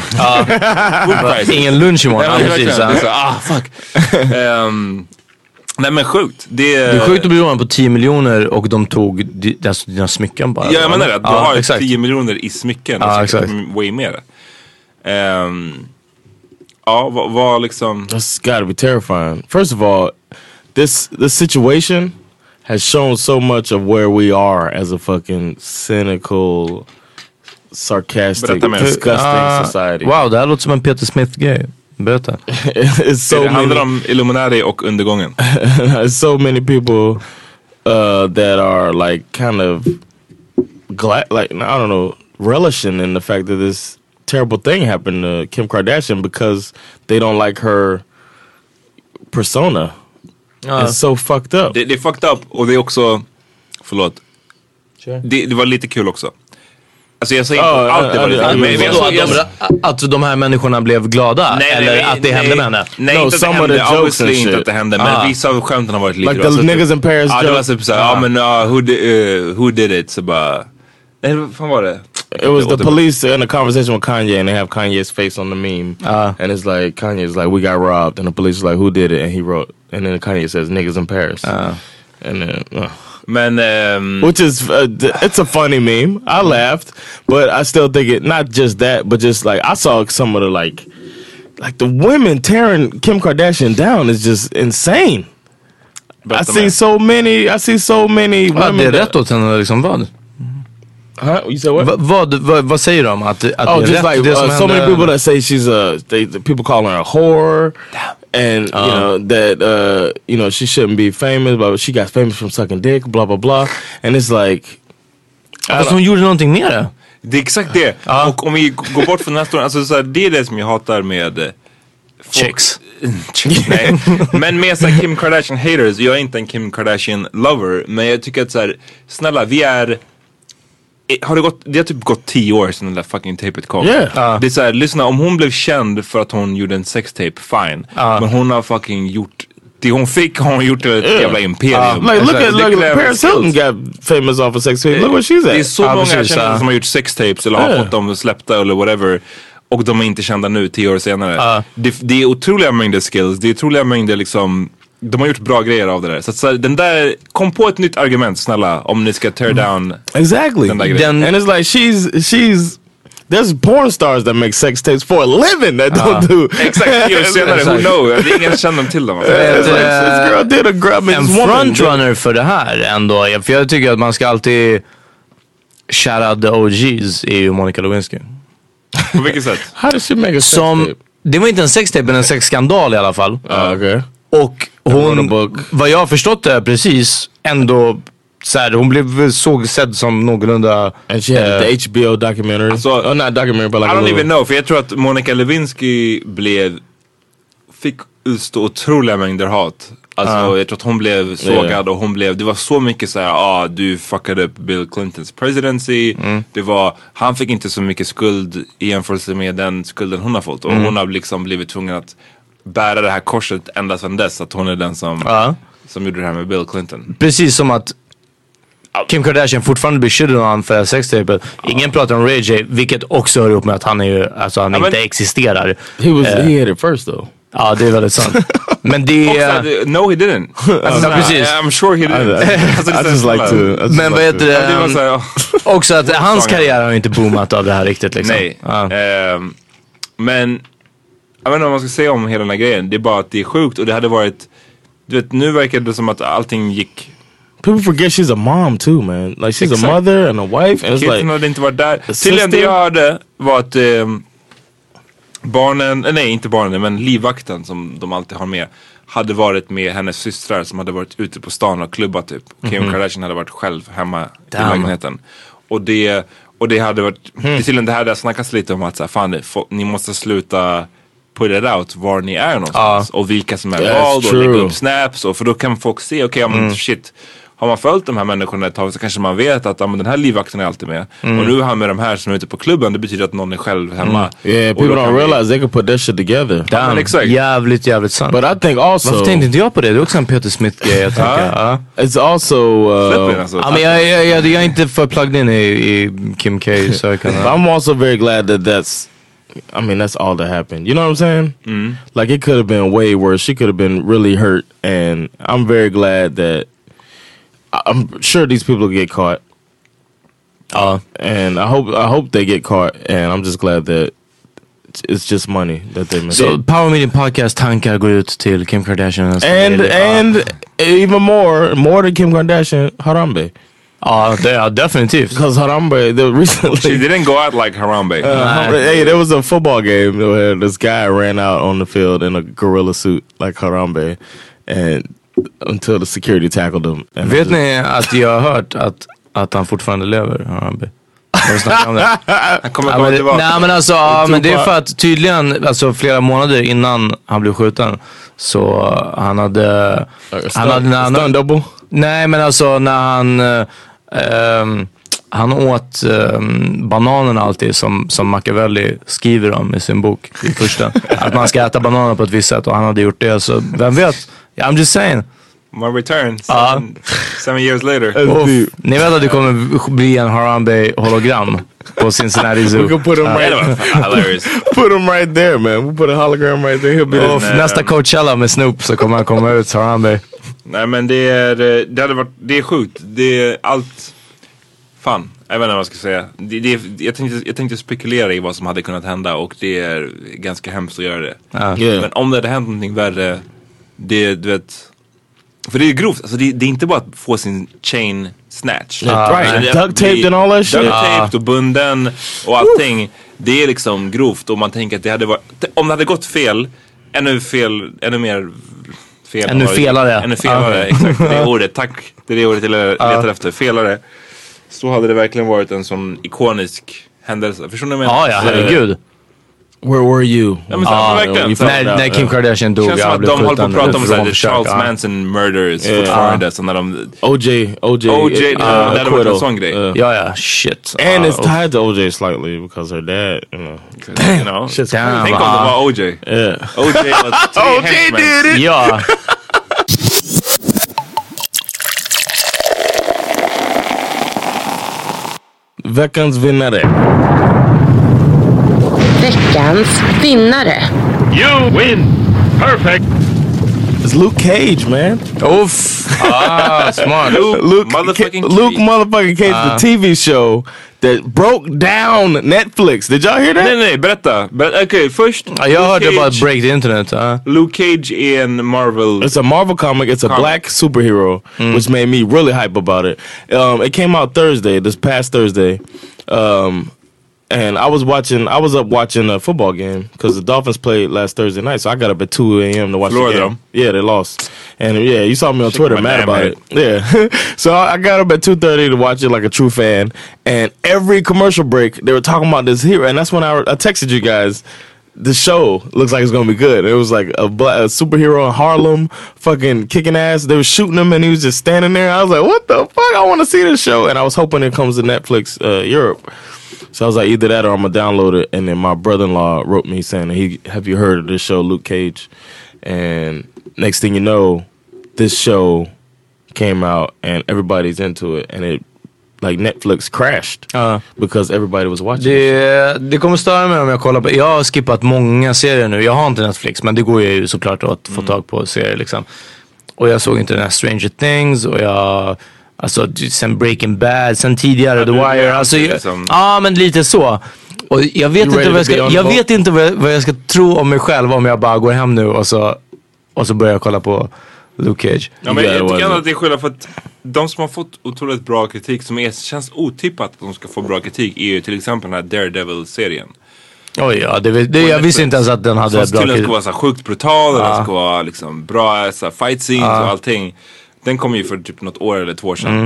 Ja. Ingen lunch imorgon. Ja, precis, det är så, ah fuck. um, nej men sjukt. Det, det är sjukt att bli rånad på tio miljoner och de tog di, alltså, dina smycken bara. Ja, jag menar det. Du ja, har exakt. tio miljoner i smycken. Ja, exakt. Way mer. Um, ja, vad, vad liksom... That's gotta be terrifying. First of all, this this situation has shown so much of where we are as a fucking cynical, sarcastic, disgusting uh, society. Wow, det här låter som en Peter Smith-grej. Berätta. It's so det handlar many, om Illuminati och undergången. It's so many people uh, that are like kind of glad, like I don't know, relishing in the fact that this terrible thing happened to Kim Kardashian because they don't like her persona. Uh. It's so fucked up. Det, det är fucked up och det är också, förlåt, sure. det, det var lite kul också. Alltså jag säger inte oh, allt det var lite kul. Men jag, jag, att de här människorna blev glada? Nej, eller nej, att det nej, hände med henne? Nej, no, inte att det hände. Obviously inte att det hände. Men ah. vissa av skämten har varit lite like bra. Like the niggas in Paris. Ja, det var typ såhär, ja men uh, who, di, uh, who did it? Så bara, nej vad fan var det? It was the police in a conversation with Kanye and they have Kanye's face on the meme. Uh. And it's like, Kanye's like, we got robbed. And the police is like, who did it? And he wrote, and then Kanye says, niggas in Paris. Uh. And then, uh. Men, um, which is, uh, it's a funny meme. I laughed, but I still think it, not just that, but just like, I saw some of the like, like the women tearing Kim Kardashian down is just insane. But I see so many, I see so many ja, women. Det är rätt åt henne liksom, vad? Huh? You said what? Va, vad, vad, vad säger de? Att, att oh, det är just rätt, like det som uh, so many people that say she's a, they, the people call her a whore. Damn. And uh. you know that uh, you know she shouldn't be famous, but she got famous from sucking dick, blah blah blah. And it's like, fast hon gjorde någonting mer det. Det är exakt det. Uh. Och om vi går bort från den här storyn, alltså så här, det är det som jag hatar med folk, chicks. Chicks, nej. Men med så här, Kim Kardashian haters, jag är inte en Kim Kardashian lover, men jag tycker att så här, snälla, vi är har det gått, det har typ gått tio år sedan den där fucking tapet kom. Yeah. Uh. Det är såhär, lyssna, om hon blev känd för att hon gjorde en sextape, fine. Uh. Men hon har fucking gjort, det hon fick har hon gjort ett yeah. jävla imperium. Uh. Like, look at, look at Paris Hilton got famous off of sex tape. Look what she's at. Det är så uh, många precis, kändare uh. som har gjort sextapes eller yeah. har fått dem släppta eller whatever. Och de är inte kända nu, tio år senare. Uh. Det, det är otroliga mängder skills, det är otroliga mängder liksom. De har gjort bra grejer av det där. Så, att, så den där, kom på ett nytt argument snälla om ni ska tear down exactly. den där grejen. And it's like she's she's there's porn stars that make sex tapes for a living that uh. don't do. Exakt, tio år senare, who knows? Det är ingen känner till dem. Alltså. It's like, this girl did a grab en frontrunner för det här ändå. För jag tycker att man ska alltid shout out the O Gs är ju Monica Lewinsky. På vilket sätt? How does she make a sex Som, tape? det var inte en sextape men en sexskandal i alla fall. Uh, okay. Och hon, vad jag har förstått det precis, ändå så här, hon blev såg sedd som någorlunda. And she had uh, the H B O documentary. Alltså, oh, not documentary, but like I don't even know, för jag tror att Monica Lewinsky blev, fick utstå otroliga mängder hat. Alltså uh. jag tror att hon blev sågad yeah. och hon blev, det var så mycket så här, ah du fuckade upp Bill Clintons presidency. Mm. Det var, han fick inte så mycket skuld i jämförelse med den skulden hon har fått. Och mm. hon har liksom blivit tvungen att bära det här korset ända sedan dess, att hon är den som, uh. som gjorde det här med Bill Clinton. Precis som att Kim Kardashian fortfarande blir skyddad av han för sextape. Ingen uh. pratar om Ray J, vilket också hör upp med att han är ju, alltså han uh, inte existerar. He was, uh, he had it first though. Ja, det är väldigt sant. Men det är... No, he didn't. Alltså, ja, precis. I'm sure he didn't. I, I, I just like to... Just Men vad heter det? Um, det också att hans karriär har inte boomat av det här riktigt liksom. Nej. Ja. Um, men... Jag vet inte vad man ska säga om hela den här grejen. Det är bara att det är sjukt och det hade varit... Du vet, nu verkar det som att allting gick... People forget she's a mom too, man. Like she's exactly. a mother and a wife. And Kitten like, hade inte varit där. Tydligen det jag hörde var att... Um, barnen, nej inte barnen men livvakten som de alltid har med hade varit med hennes systrar som hade varit ute på stan och klubbat typ. Kim mm-hmm. Kardashian hade varit själv hemma Damn. i lägenheten. Och det, och det hade varit, mm. det, tydligen det här där snackas lite om att så här, fan, det, ni måste sluta put it out var ni är någonstans. Uh, och vilka som är vald och lägga upp snaps. Och för då kan folk se, okej okay, mm. shit, har man följt de här människorna ett tag så kanske man vet att ja, men den här livvakten är alltid med. Mm. Och nu är han med de här som är ute på klubben. Det betyder att någon är själv hemma. Mm. Yeah, people don't realize they can put that shit together. Damn, men exakt. Jävligt, jävligt sant. But I think also... Varför tänkte inte jag på det? Det är också en Peter Smith-grej, jag tänker. Ja. It's also... Uh, alltså. Ja, men jag, jag, jag, jag är inte för plugged in i, i Kim K. Så jag kan, I'm also very glad that that's... I mean, that's all that happened. You know what I'm saying? Mm. Like, it could have been way worse. She could have been really hurt. And I'm very glad that... I'm sure these people get caught. Uh, and I hope I hope they get caught. And I'm just glad that it's just money that they make. So Power Meeting Podcast tankar går ut till Kim Kardashian. And, and uh. even more, more than Kim Kardashian, Harambe. Ja, uh, yeah, definitivt. Because Harambe, the recently... She didn't go out like Harambe. Uh, hey, there was a football game where this guy ran out on the field in a gorilla suit like Harambe. And until the security tackled him. Vet just... ni att jag har hört att, att han fortfarande lever, Harambe? Om det. Han kommer komma tillbaka. Nej men alltså, ja, men det är för att tydligen, alltså flera månader innan han blev skjuten, så han hade... Uh, han hade... Han, double? Nej men alltså när han... Uh, um, han åt um, bananerna alltid som, som Machiavelli skriver om i sin bok i första. Att man ska äta bananer på ett visst sätt och han hade gjort det, så vem vet? I'm just saying. My return seven, uh. seven years later. Och, ni vet att det kommer bli en Harambe hologram på Cincinnati Zoo. We can put him uh. right hilarious. Put him right there, man. We put a hologram right there. He'll be och there. Nästa Coachella med Snoop så kommer han komma ut Harambe. Nej men det är det hade varit det är sjukt. Det är allt fan. Jag vet inte vad jag ska säga. Det, det, jag, tänkte, jag tänkte spekulera i vad som hade kunnat hända och det är ganska hemskt att göra det. Uh. Yeah. Men om det hade hänt någonting värre, det du vet. För det är grovt, alltså det, det är inte bara att få sin chain snatch. Uh, right. Duct taped and all that shit. Duct taped och bunden och allting. Det är liksom grovt och man tänker att det hade varit, om det hade gått fel, ännu fel, ännu mer fel. Ännu felare. Ännu felare, uh. exakt. Det är ordet, tack. Det är det ordet jag letar uh. efter, felare. Så hade det verkligen varit en sån ikonisk händelse. Förstår ni vad jag menar? Ja, ja, herregud. Where were you? Ja, men så, ah, verkligen. Så, när, när Kim Kardashian dog. Känns som att de håller på att prata om såhär Charles Manson murders yeah. fortfarande. Så när de... O J, O J. O J, uh, det hade varit en sån grej. Uh, ja, ja, shit. And uh, it's tied to O J slightly because her dad, you know. Damn. You know, shit's damn. Tänk om det var O J. Yeah. O J var tre O J did it! Ja. Veckans vinnare. Veckans vinnare. You win. Perfect. It's Luke Cage, man. Oof. Ah, smart. Luke, Luke motherfucking Ca- Cage. Luke motherfucking Cage, Uh. the T V show that broke down Netflix. Did y'all hear that? Nej, nej, berätta. Ber- Okej, okay, först. Ja, jag hörde bara break the internet. Uh. Luke Cage är en Marvel. It's a Marvel comic. It's a comic. black superhero, mm. which made me really hype about it. Um, it came out Thursday, this past Thursday. Um, and I was watching, I was up watching a football game because the Dolphins played last Thursday night. So I got up at two a.m. to watch Florida. the game. Yeah, they lost. And yeah, you saw me on Shake Twitter my mad damn about head. it. Yeah. So I got up at two thirty to watch it like a true fan. And every commercial break, they were talking about this hero. And that's when I, I texted you guys. The show looks like it's gonna be good. It was like a, black, a superhero in Harlem, fucking kicking ass. They were shooting him, and he was just standing there. I was like, "What the fuck? I want to see this show." And I was hoping it comes to Netflix uh, Europe. So I was like, either that or I'm gonna download it. And then my brother-in-law wrote me saying, "He, have you heard of this show, Luke Cage?" And next thing you know, this show came out, and everybody's into it, and it. Like Netflix crashed uh, because everybody was watching. Det, det kommer störa mig om jag kollar på. Jag har skippat många serier nu. Jag har inte Netflix, men det går ju såklart att få tag på serier liksom. Och jag såg inte den här Stranger Things och jag alltså sen Breaking Bad, sen tidigare ja, The Wire. Alltså ja, liksom. ah, men lite så. Och jag vet inte vad jag ska jag vet inte vad jag, vad jag ska tro om mig själv om jag bara går hem nu och så och så börjar jag kolla på Luke Cage. Ja, men jag tycker att det är skillnad för att de som har fått otroligt bra kritik som är, känns otippat att de ska få bra kritik är ju till exempel den här Daredevil-serien. Oj, ja, det, det, jag visste inte ens att den hade bra kritik. Den ska vara så här sjukt brutal, ah. den ska vara liksom bra så här, fight scenes ah. och allting. Den kom ju för typ något år eller två år sedan. Mm.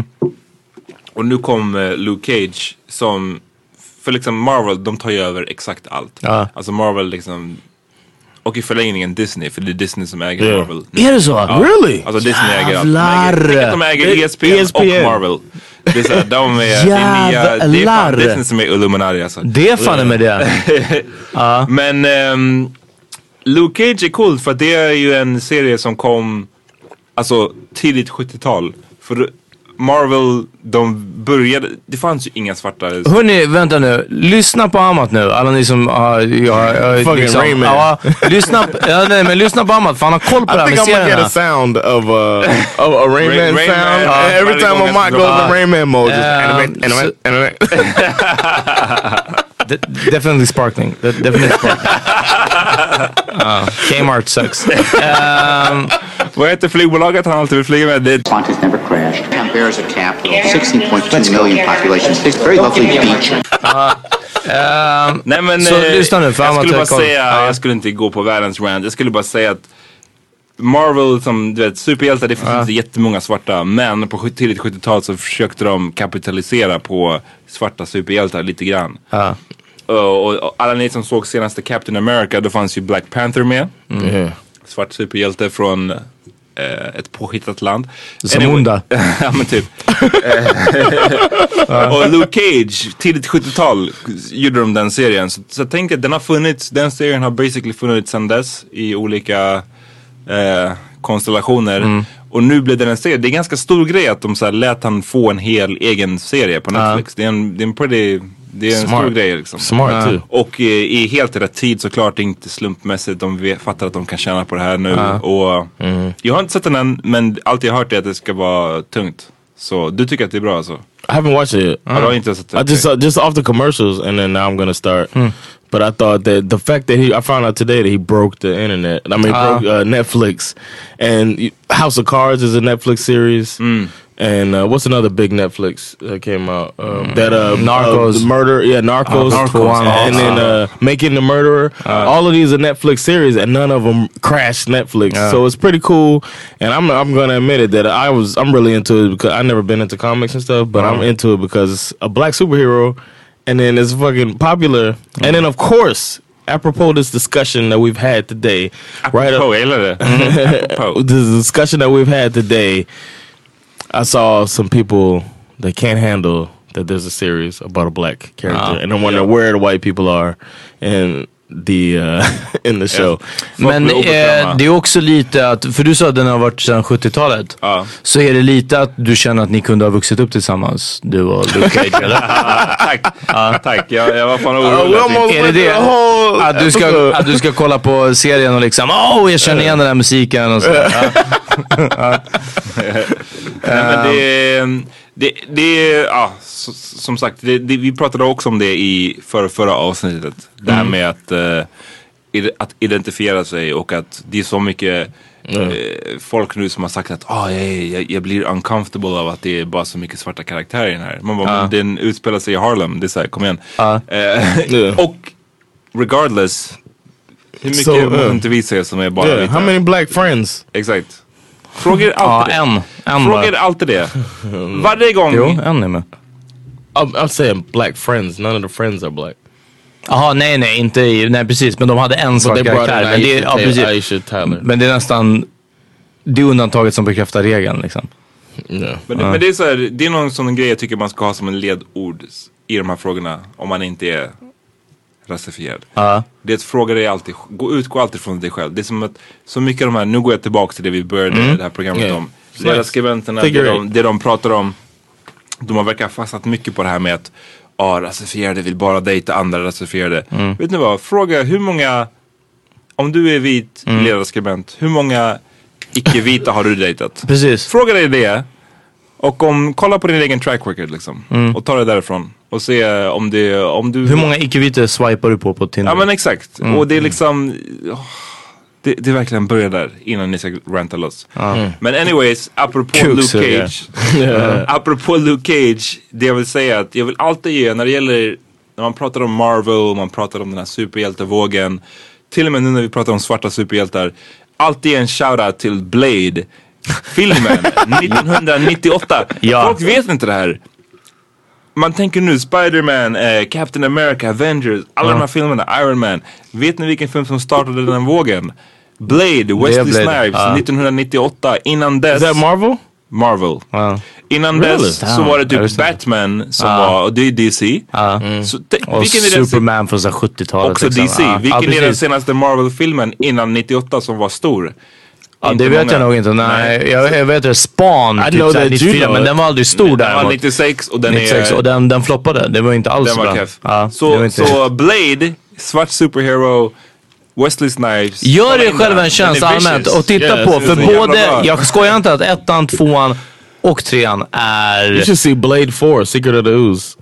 Och nu kom uh, Luke Cage som, för liksom Marvel, de tar ju över exakt allt. Ah. Alltså Marvel liksom och i förlängningen Disney, för det är Disney som äger Yeah. Marvel. Nu. Är det så? Ja. Really? Alltså Disney äger allt. Jävlar. De äger, de äger E S P N, E S P N och Marvel. Det är så här, de är, det är nya, det är fan Jävlar. Disney som är Illuminati alltså. Det är fan med det. Ja. Men ehm, Luke Cage är cool för att det är ju en serie som kom alltså tidigt sjuttiotal. För Marvel, de började, det fanns ju inga svarta. Hörrni, vänta nu. Lyssna på Amat nu. Alla ni som har... Uh, Fucking liksom, Rain Man. Ja, lyssna, på, ja, nej, men lyssna på Amat, för han har koll på det här I med think I'm gonna get serierna. a sound of, uh, of a Rain, Rain- Man Rain sound. Man. Uh, every time Amat goes in Rain Man mode. Just Um, animate, animate, animate. De- definitely sparkling. De- definitely sparkling. uh, Kmart sucks. Um, Vad heter flygbolaget han alltid vill flyga med? Det Qantas never crashed. Canberra's a capital, sixteen point two million population. It's very lovely beach. um, Nej men Så eh, lyssna nu, för jag skulle bara amatörkoll. säga, Ja. jag skulle inte gå på världens rant. Jag skulle bara säga att Marvel som du vet, superhjältar, det finns Ja. inte jättemånga svarta. Men på sjut- tidigt sjuttiotal så försökte de kapitalisera på svarta superhjältar lite grann. Ja. Och, och, och alla ni som såg senaste Captain America, då fanns ju Black Panther med. Yeah. Svart superhjälte från eh, ett påhittat land. Zamunda. Ja men typ. Och Luke Cage, tidigt sjuttiotal gjorde de den serien. Så, så jag tänker att den har funnits, den serien har basically funnits sedan dess i olika eh, konstellationer. Mm. Och nu blev det en serie. Det är en ganska stor grej att de så här lät han få en hel egen serie på Netflix. Det är en, det är en pretty, det är en Smart. stor grej liksom. Smart Ja. too. Och eh, i helt rätt tid såklart, inte slumpmässigt. De vet, fattar att de kan tjäna på det här nu. Ja. Och jag har inte sett den än, men allt jag har hört är att det ska vara tungt. Så du tycker att det är bra alltså? I haven't watched it yet. Ja, du har inte sett det? I just uh, just off the commercials, and then now I'm gonna start. But I thought that the fact that he, I found out today that he broke the internet. I mean, Ah. broke uh, Netflix, and y- House of Cards is a Netflix series. And uh, what's another big Netflix that came out? Um, That uh, Narcos. uh, the murder, yeah, Narcos, Uh, Narcos. and then uh, Making the Murderer. All of these are Netflix series, and none of them crashed Netflix. Yeah. So it's pretty cool. And I'm I'm gonna admit it that I was I'm really into it because I've never been into comics and stuff, but I'm into it because it's a black superhero, and then it's fucking popular. And then of course, apropos this discussion that we've had today, right? Apropos, jag gillar det. Apropos. This discussion that we've had today, I saw some people that can't handle that there's a series about a black character, Ah. and I'm wondering where the white people are in the uh, in the show. Men eh, det är också lite att, för du sa att den har varit sedan sjuttiotalet. Ja. Så är det lite att du känner att ni kunde ha vuxit upp tillsammans, du och Luke Cage, eller? Tack, tack. Jag, jag var fan Uh, orolig. we att almost Är det went det? the whole Att du, ska, episode. att du ska kolla på serien och liksom, åh, oh, jag känner igen den här musiken och så. Ja. Nej, men det, det, det ja, så, som sagt, det, det, vi pratade också om det i förra, förra avsnittet. Det här med att, eh, ide- att identifiera sig och att det är så mycket eh, folk nu som har sagt att ah, jag, jag, jag blir uncomfortable av att det är bara så mycket svarta karaktärer i den här. Man bara, Ja. men den utspelar sig i Harlem, det är såhär, kom igen. Ja. Eh, Yeah. Och regardless, hur mycket So, måste uh, inte vi se som är bara Yeah, vita? how many black friends? Exakt. Frågor Ja, alltid det. en. En Frågor bara. alltid det. Varje gång. Jo, en är med. I'm, I'm saying black friends. None of the friends are black. Jaha, nej, nej, inte i, nej precis, men de hade en svart they brought karaktär. in Men det, är- ja, Aisha- precis. Aisha Tyler. Men det är nästan det är undantaget som bekräftar regeln liksom. Yeah. Men, det, men det är så här, det är någon sån grej jag tycker man ska ha som en ledord i de här frågorna. Om man inte är rasifierad. Ja. Det är att fråga dig alltid, gå, utgå alltid från dig själv. Det är som att, så mycket av de här, nu går jag tillbaka till det vi började Mm. det här programmet Yeah. om. Nice. Ledarskribenterna, det Figure de, det de pratar om. De har verkar fastnat mycket på det här med att ah, rasifierade vill bara dejta andra rasifierade. Mm. Vet ni vad, fråga hur många, om du är vit Mm. ledarskribent, hur många icke-vita har du dejtat? Precis. Fråga dig det. Och om, kolla på din egen track record liksom. Och ta det därifrån. Och se om det, om du... Hur många icke-vita swipar du på på Tinder? Ja men exakt. Och det är liksom, åh, det, det är verkligen börjar där innan ni ska ranta loss. Men anyways, apropå Kuk, Luke så det. Cage. Apropå Luke Cage, det jag vill säga att jag vill alltid ge, när det gäller, när man pratar om Marvel, man pratar om den här superhjältevågen, till och med nu när vi pratar om svarta superhjältar, alltid en shoutout till Blade. Filmen nittonhundranittioåtta. Ja. Folk vet inte det här. man tänker nu Spider-Man, eh, Captain America, Avengers, alla mm. de här filmerna, Iron Man. Vet ni vilken film som startade den vågen? Blade, Wesley Blade. Snipes, uh. nittonhundranittioåtta. Innan dess... Is that Marvel? Marvel. Uh. Innan really? dess så var det typ Batman som uh. var, och det är D C. Uh. Mm. Så te, och vilken är Superman från sjuttiotalet. Också liksom. D C. Uh. Vilken uh, är den senaste Marvel-filmen innan nittioåtta som var stor? Ja, det vet många. jag nog inte. Nej, Nej. Jag, jag vet det. Spawn typ såhär, nittiofyra, men den var aldrig stor där. Den var nittiosex och den nittiosex, är... och den, den floppade. Det var inte alls den bra. Var ja, så, inte... så Blade, svart superhero, Wesley Snipes. Gör det själv en tjänst allmänt och titta yeah, på. För både, jag skojar inte att ettan, tvåan och trean är... You should see Blade four, Secret of the Ooze.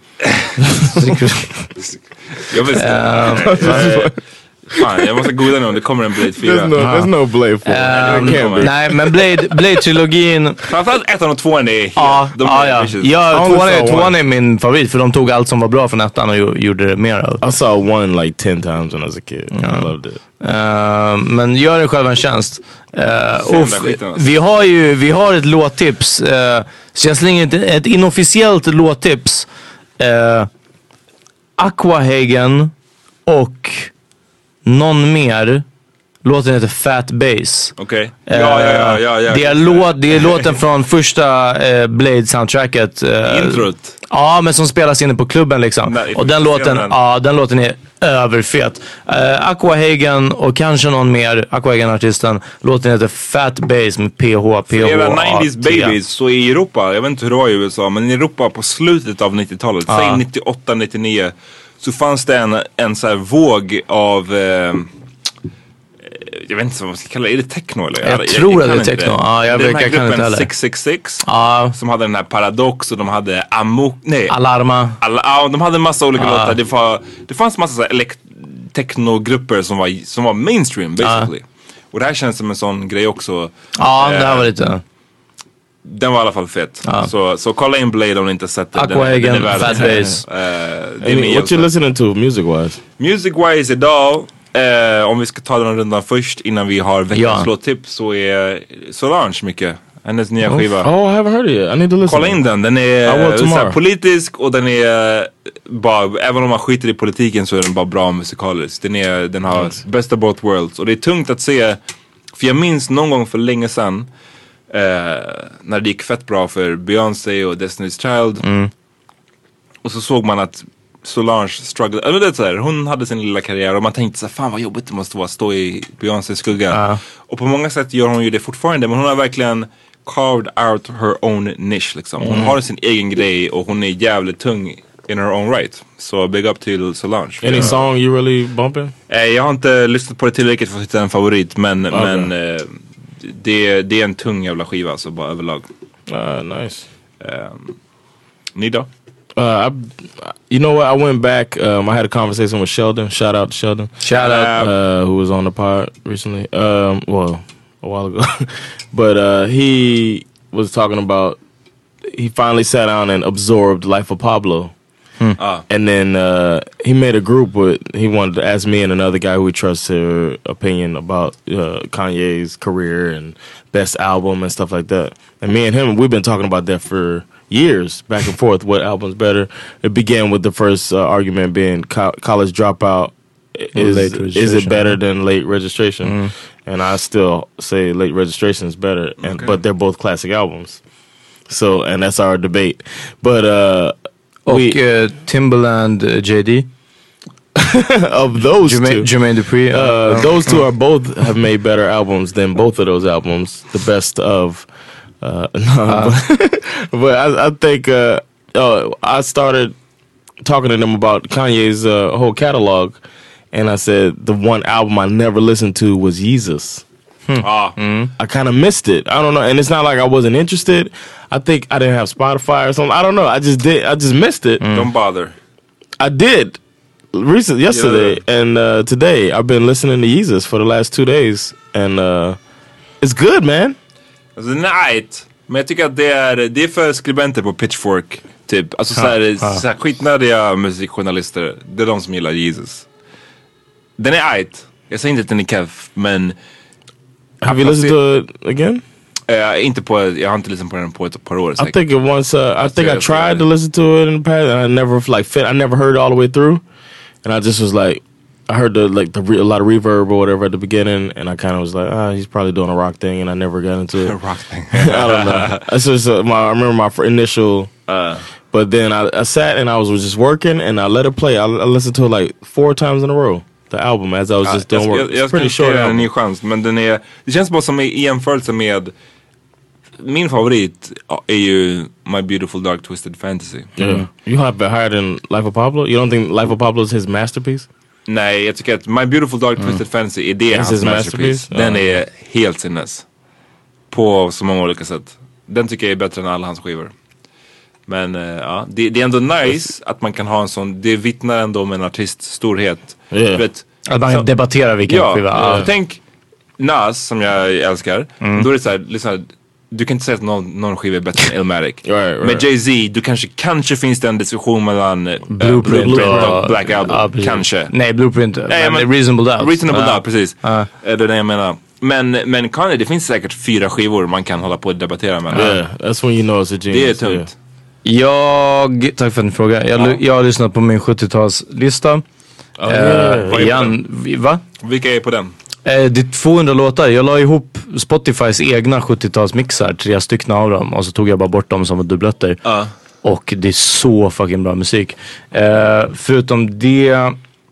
Jag vill säga... Fan, jag måste googla nu om det kommer en Blade fyra. There's no, there's no Blade four. Um, nej, men Blade, Blade-trilogin... Framförallt ettan och tvåan är helt... Ja, de ja, ja. ja tvåan, är, tvåan är min favorit för de tog allt som var bra från ettan och gjorde det mer av. I saw one like ten times when I was a kid. Mm. I loved it. Uh, men gör det själv en tjänst. Uh, och vi har ju vi har ett låttips. Uh, så jag slänger ett, ett inofficiellt låttips. Uh, Aquahagen och någon mer. Låten heter Fat Bass. Okej. Okay. Ja, ja, ja, ja, ja. Det är, låt, det är låten från första eh, Blade-soundtracket. Eh, Introt. Ja, men som spelas inne på klubben liksom. Nej, och den låten, den. Ja, den låten är överfet. Eh, Aquahagen och kanske någon mer, Aquahagen-artisten. Låten heter Fat Bass med P H P H. För era nittiotalet babies, så i Europa, jag vet inte hur det var i U S A, men i Europa på slutet av nittiotalet, ja. Säg nittioåtta nittionio, så fanns det en, en så här våg av... Eh, jag vet inte vad man ska kalla det. Är det techno eller? Jag, jag tror jag, jag att det är techno. Ja, jag det vet, den här jag gruppen kan sex sex sex ja. Som hade den här Paradox och de hade Amok, nej. Alarma. Alla, ja, de hade en massa olika ja. låtar. Det, var, det fanns massa så här elekt- techno-grupper som var, som var mainstream basically. Ja. Och det här känns som en sån grej också. Ja, eh, det här var lite... Den var i alla fall fett. Ja. Så, så kolla in Blade om ni inte sett det. Aquahagen, Fat Bass. uh, What you listening to music-wise? Music-wise idag... Uh, om vi ska ta den rundan först innan vi har veckans ja. låttips, så är Solange mycket. Hennes nya oh, skiva. Oh, I haven't heard it yet. I need to listen. Kolla in den. Den är såhär politisk och den är bara, även om man skiter i politiken så är den bara bra musikalisk. Den, är, den har yes. best of both worlds. Och det är tungt att se, för jag minns någon gång för länge sedan uh, när det gick fett bra för Beyoncé och Destiny's Child. Mm. Och så såg man att Solange struggle, eller det är så här, hon hade sin lilla karriär och man tänkte så här, fan vad jobbigt det måste vara att stå i Beyoncés skugga. Uh. Och på många sätt gör hon ju det fortfarande, men hon har verkligen carved out her own niche liksom. Hon mm. har sin egen grej och hon är jävligt tung in her own right. Så big up till Solange. Any yeah. song you really bumping? Eh, jag har inte lyssnat på det tillräckligt för att hitta en favorit, men, okay. men eh, det, det är en tung jävla skiva alltså, bara överlag. Uh, nice. Um, ni då? Uh, I, you know what? I went back. Um, I had a conversation with Sheldon. Shout out to Sheldon. Shout out. Uh, who was on the pod recently. Um, well, a while ago. But uh, he was talking about, he finally sat down and absorbed Life of Pablo. Hmm. Ah. And then uh, he made a group with, he wanted to ask me and another guy who we trust their opinion about uh, Kanye's career and best album and stuff like that. And me and him, we've been talking about that for years, back and forth. What album's better? It began with the first uh, argument being co- College Dropout. Is is it better than Late Registration? Mm. And I still say Late Registration is better, and okay. but they're both classic albums. So, and that's our debate. But uh, och we, uh, Timbaland, uh, J D. Of those Jermaine, two, Jermaine Dupri. Uh, uh, those two are both have made better albums than both of those albums. The best of. Uh, no, uh. but, but I, I think uh, oh, I started talking to them about Kanye's uh, whole catalog, and I said the one album I never listened to was Yeezus. Hmm. Ah. Mm. I kind of missed it. I don't know, and it's not like I wasn't interested. I think I didn't have Spotify or something. I don't know. I just did. I just missed it. Mm. Don't bother. I did recent yesterday yeah. and uh, today. I've been listening to Yeezus for the last two days, and uh, it's good, man. Alltså, nej, men jag tycker att det är, det är för skribenter på Pitchfork typ. Alltså såhär, ha, ha. såhär skitnödiga musikjournalister. Det är de som gillar Jesus. Den är ajt. Jag säger inte att den är keff, men have you listened to it again? Uh, inte på, jag har inte lyssnat på den på ett par år. I think it once, uh, I think I tried to listen to it in the past and I never like fit, I never heard it all the way through. And I just was like, I heard the like the re- a lot of reverb or whatever at the beginning, and I kind of was like, ah, oh, he's probably doing a rock thing, and I never got into it. Rock thing. I don't know. That's just uh, my. I remember my initial, uh, but then I, I sat and I was just working, and I let it play. I, I listened to it like four times in a row. The album as I was just doing jag, work. Jag, jag It's pretty ska short. ge den en ny chans, men den är. Det känns bara som i jämförelse med. Min favorit är ju My Beautiful Dark Twisted Fantasy. Yeah. You have it higher than Life of Pablo? You don't think Life of Pablo is his masterpiece? Nej, jag tycker att My Beautiful Dark Twisted mm. Fantasy är det That's hans masterpiece. masterpiece. Den uh. är helt sinnes. På så många olika sätt. Den tycker jag är bättre än alla hans skivor. Men uh, ja, det, det är ändå nice att man kan ha en sån. Det vittnar ändå om en artists storhet. Yeah. Vet, att man kan debattera vilken ja, skiva. Ja, uh. Tänk Nas som jag älskar. Mm. Då är det såhär, liksom, du kan inte säga att någon, någon skiva är bättre än Illmatic. Right, right. Med Jay-Z, du kanske, kanske finns det en diskussion mellan uh, Blueprint, Blueprint och, och Black Album. Ja, kanske. Nej, Blueprint. Nej, men, men Reasonable Doubt. Reasonable uh. Doubt, precis. Uh. Det är det jag menar. Men, men Kanye, det finns säkert fyra skivor man kan hålla på och debattera med. Yeah, that's when you know it's a genius. Det är tungt. Jag, tack för en fråga. Jag, ja. jag har lyssnat på min sjuttiotalslista. Oh, yeah. uh, igen, va? Vilka är på den? Eh, det är tvåhundra låtar. Jag la ihop Spotifys egna sjuttiotalsmixar, tre stycken av dem. Och så tog jag bara bort dem som var dubbletter. Uh. Och det är så fucking bra musik. Eh, förutom det,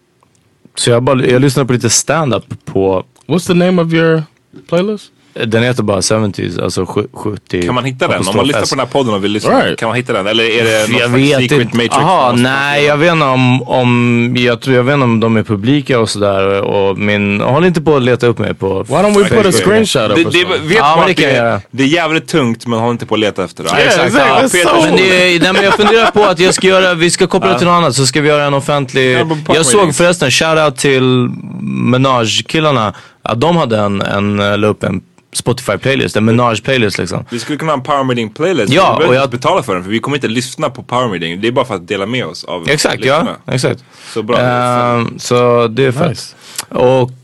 så jag, bara, jag lyssnade på lite stand-up på... What's the name of your playlist? Den heter bara sjuttio, alltså sjuttio. Kan man hitta den? Om man lyssnar på den här podden och vill lyssna, right. Kan man hitta den? Eller är det något jag vet secret inte. matrix? Aha, nej, jag vet inte om, om jag tror jag vet inte om de är publika och sådär. Och min, håll inte på att leta upp mig på... Why don't we put a screenshot det, det, vet ja, man det, det, är, det är jävligt tungt, men håll inte på att leta efter det. Ja, exakt. Ja, so men, det, nej, men jag funderar på att jag ska göra, vi ska koppla det till något annat, så ska vi göra en offentlig... Ja, jag såg förresten, shoutout till Menage-killarna, att de hade en, en, la upp en Spotify-playlist, en Menage-playlist liksom. Vi skulle kunna ha en Power Meeting-playlist. Ja, vi och jag betala för den, för vi kommer inte lyssna på Power Meeting. Det är bara för att dela med oss av exakt, lyssnarna. Ja, exakt. Så bra. Uh, så det är fett. Nice. Och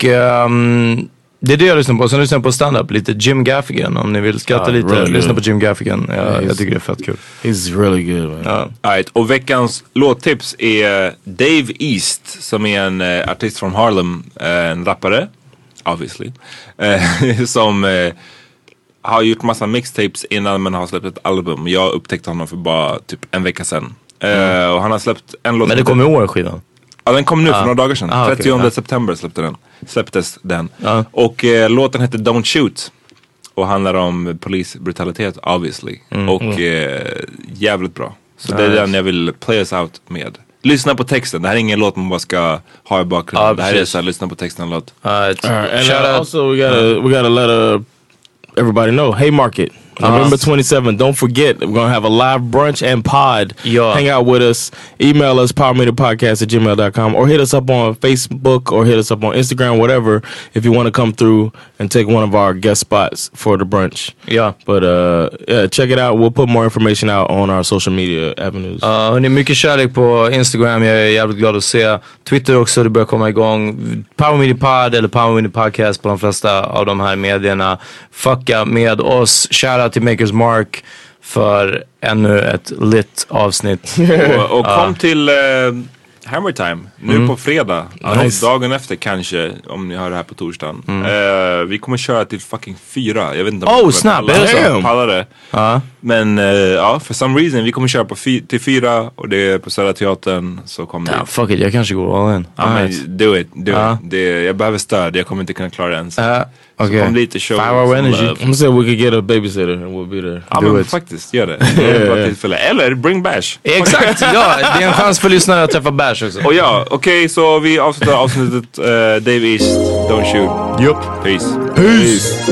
um, det är det jag lyssnar på. Sen lyssnar jag på stand-up, lite Jim Gaffigan. Om ni vill skratta uh, lite, really lyssna på Jim Gaffigan. Ja, yeah, jag tycker det är fett kul. He's really good, man. Uh. All right. Och veckans låttips är Dave East, som är en uh, artist från Harlem, uh, en rappare, obviously, uh, som uh, har gjort massa mixtapes innan man har släppt ett album. Jag upptäckte honom för bara typ en vecka sedan. Mm. Uh, och han har släppt en låt. Men det kom i år skivan? Ja, den kom nu ah. för några dagar sedan. Ah, trettionde okay, september släppte den. Släpptes den. Ah. Och uh, låten heter Don't Shoot. Och handlar om polisbrutalitet, obviously. Mm. Och mm. Uh, jävligt bra. Så nice. Det är den jag vill play us out med. Lyssna på texten. Det här är ingen låt man bara ska ha i bakgrunden. Ah, det här är så här, lyssna på texten låt. Uh, right. And Shout uh, out. Also we gotta, uh. we gotta let uh, everybody know. Haymarket. Uh-huh. November twenty-seventh. Don't forget, we're going to have a live brunch and pod. Yeah. Hang out with us. Email us, power meter podcast at gmail dot com, or hit us up on Facebook, or hit us up on Instagram, whatever, if you want to come through and take one of our guest spots for the brunch. Yeah. But uh, yeah, check it out. We'll put more information out on our social media avenues. Uh, hörni, mycket kärlek på Instagram. Jag är jävligt glad att se. Twitter också, det börjar komma igång. Power Meter Pod eller Power Meter Podcast på de flesta av de här medierna. Fucka med oss. Shoutout till Makers Mark för ännu ett lit avsnitt. och, och kom uh. till uh, Hammer Time nu mm. på fredag. Nice. Dagen efter kanske, om ni hör det här på torsdagen. Mm. Uh, vi kommer köra till fucking fyra. Jag vet inte om oh, snabbt, är det så? Pallar det. Uh. Men uh, ja, for some reason vi kommer köra på fi- till fyra och det är på Södra Teatern, så kommer ja, det. Fuck it, jag kanske går all in. Ja, men do it, do uh. it. Det, jag behöver stöd, jag kommer inte kunna klara det ens. Uh. Okay. Så kom dit och show. Five hour energy. I'm gonna say we could get a babysitter and we'll be there. Ja, men faktiskt, gör det. yeah. Eller bring Bash. Exakt, ja. Det är en chans för lyssnare att träffa Bash också. Och ja, okej, okay, så vi avslutar avsnittet uh, Dave East, Don't Shoot. Yup. Peace. Peace. Peace.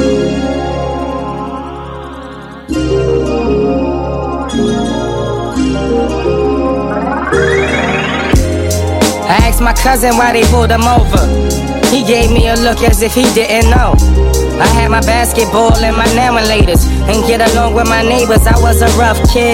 I asked my cousin why they pulled him over. He gave me a look as if he didn't know. I had my basketball and my laminators and get along with my neighbors. I was a rough kid.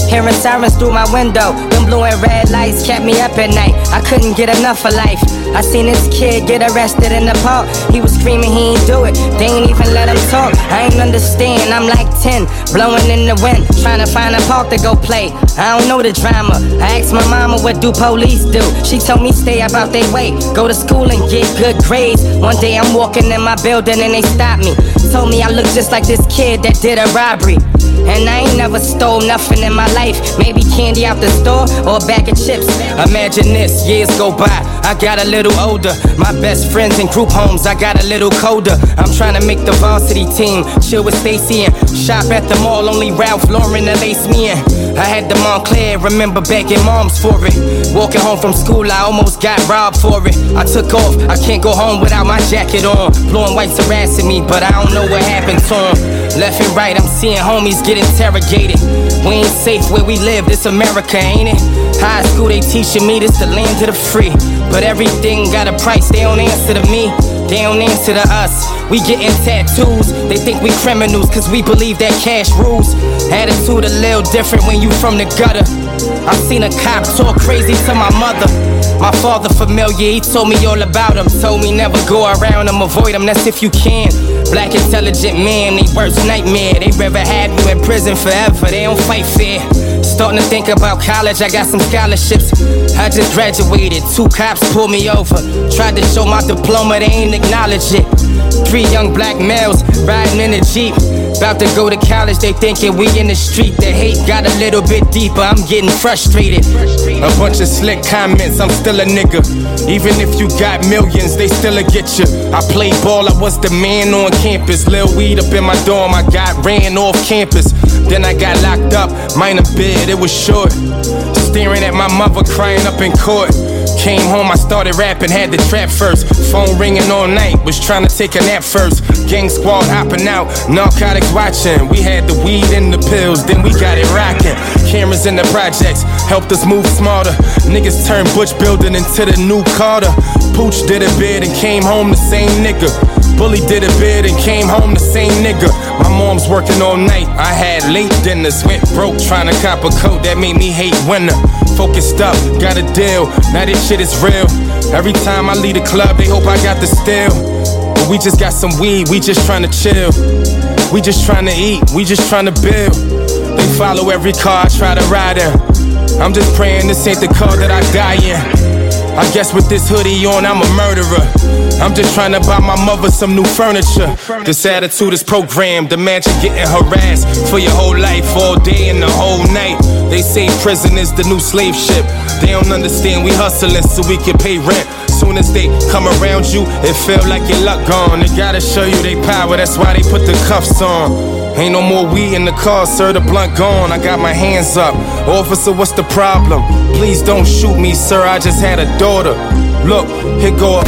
Hearing sirens through my window, them blue and red lights kept me up at night. I couldn't get enough of life. I seen this kid get arrested in the park. He was screaming he ain't do it, they ain't even let him talk. I ain't understand, I'm like ten, blowing in the wind, trying to find a park to go play. I don't know the drama. I asked my mama, what do police do? She told me stay about their way, go to school and get good grades. One day I'm walking in my building and they stopped me. Told me I look just like this kid that did a robbery. And I ain't never stole nothing in my life. Maybe candy out the store or a bag of chips. Imagine this, years go by, I got a little older. My best friends in group homes, I got a little colder. I'm trying to make the varsity team, chill with Stacy and shop at the mall, only Ralph Lauren to lace me in. I had the Montclair, remember begging moms for it. Walking home from school, I almost got robbed for it. I took off, I can't go home without my jacket on. Blue and white's harassing me, but I don't know what happened to them. Left and right, I'm seeing homies get interrogated. We ain't safe where we live, this America, ain't it? High school, they teaching me this the land of the free. But everything got a price, they don't answer to me. They don't answer to us. We getting tattoos, they think we criminals cause we believe that cash rules. Attitude a little different when you from the gutter. I seen a cop talk crazy to my mother. My father familiar, he told me all about him. Told me never go around him, avoid him, that's if you can. Black intelligent man, they worst nightmare. They rather have you in prison forever, they don't fight fair. Starting to think about college, I got some scholarships. I just graduated, two cops pulled me over. Tried to show my diploma, they ain't acknowledge it. Three young black males riding in a Jeep. About to go to college, they thinking we in the street. The hate got a little bit deeper, I'm getting frustrated. A bunch of slick comments, I'm still a nigga. Even if you got millions, they still'll get you. I played ball, I was the man on campus. Lil' weed up in my dorm, I got ran off campus. Then I got locked up, minor bid, it was short. Staring at my mother crying up in court. Came home, I started rapping, had the trap first. Phone ringing all night, was trying to take a nap first. Gang squad hopping out, narcotics watching. We had the weed and the pills, then we got it rocking. Cameras in the projects helped us move smarter. Niggas turned Butch building into the new Carter. Pooch did a bid and came home the same nigga. Bully did a bid and came home the same nigga. My mom's working all night, I had late dinners. Went broke trying to cop a coat that made me hate winter. Focused up, got a deal, now this shit is real. Every time I leave the club, they hope I got the steal. But we just got some weed, we just trying to chill. We just trying to eat, we just trying to build. They follow every car I try to ride in. I'm just praying this ain't the car that I die in. I guess with this hoodie on, I'm a murderer. I'm just trying to buy my mother some new furniture. This attitude is programmed. Imagine getting harassed for your whole life, all day and the whole night. They say prison is the new slave ship. They don't understand we hustling so we can pay rent. Soon as they come around you, it feel like your luck gone. They gotta show you they power, that's why they put the cuffs on. Ain't no more weed in the car, sir, the blunt gone. I got my hands up. Officer, what's the problem? Please don't shoot me, sir, I just had a daughter. Look, here go up.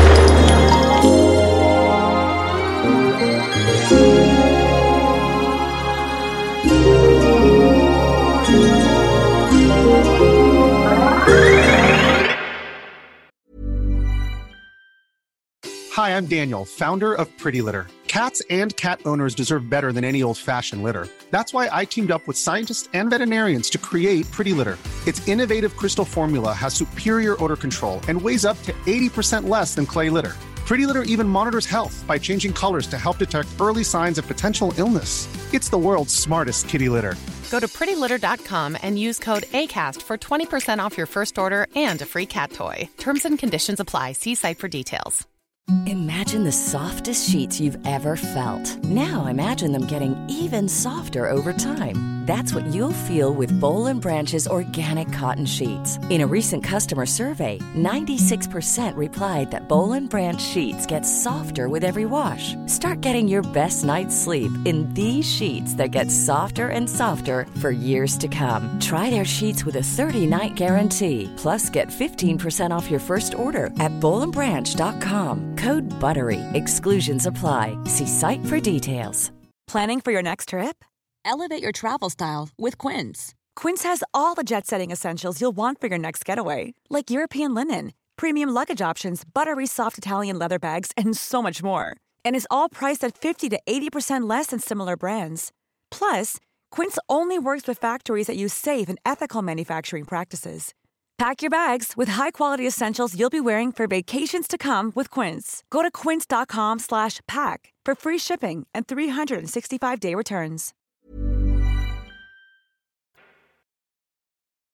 Hi, I'm Daniel, founder of Pretty Litter. Cats and cat owners deserve better than any old-fashioned litter. That's why I teamed up with scientists and veterinarians to create Pretty Litter. Its innovative crystal formula has superior odor control and weighs up to eighty percent less than clay litter. Pretty Litter even monitors health by changing colors to help detect early signs of potential illness. It's the world's smartest kitty litter. Go to pretty litter dot com and use code ACAST for twenty percent off your first order and a free cat toy. Terms and conditions apply. See site for details. Imagine the softest sheets you've ever felt. Now imagine them getting even softer over time. That's what you'll feel with Boll and Branch's organic cotton sheets. In a recent customer survey, ninety-six percent replied that Boll and Branch sheets get softer with every wash. Start getting your best night's sleep in these sheets that get softer and softer for years to come. Try their sheets with a thirty-night guarantee. Plus, get fifteen percent off your first order at boll and branch dot com. Code BUTTERY. Exclusions apply. See site for details. Planning for your next trip? Elevate your travel style with Quince. Quince has all the jet-setting essentials you'll want for your next getaway, like European linen, premium luggage options, buttery soft Italian leather bags, and so much more. And is all priced at fifty to eighty percent less than similar brands. Plus, Quince only works with factories that use safe and ethical manufacturing practices. Pack your bags with high-quality essentials you'll be wearing for vacations to come with Quince. Go to quince dot com slash pack for free shipping and three hundred sixty-five day returns.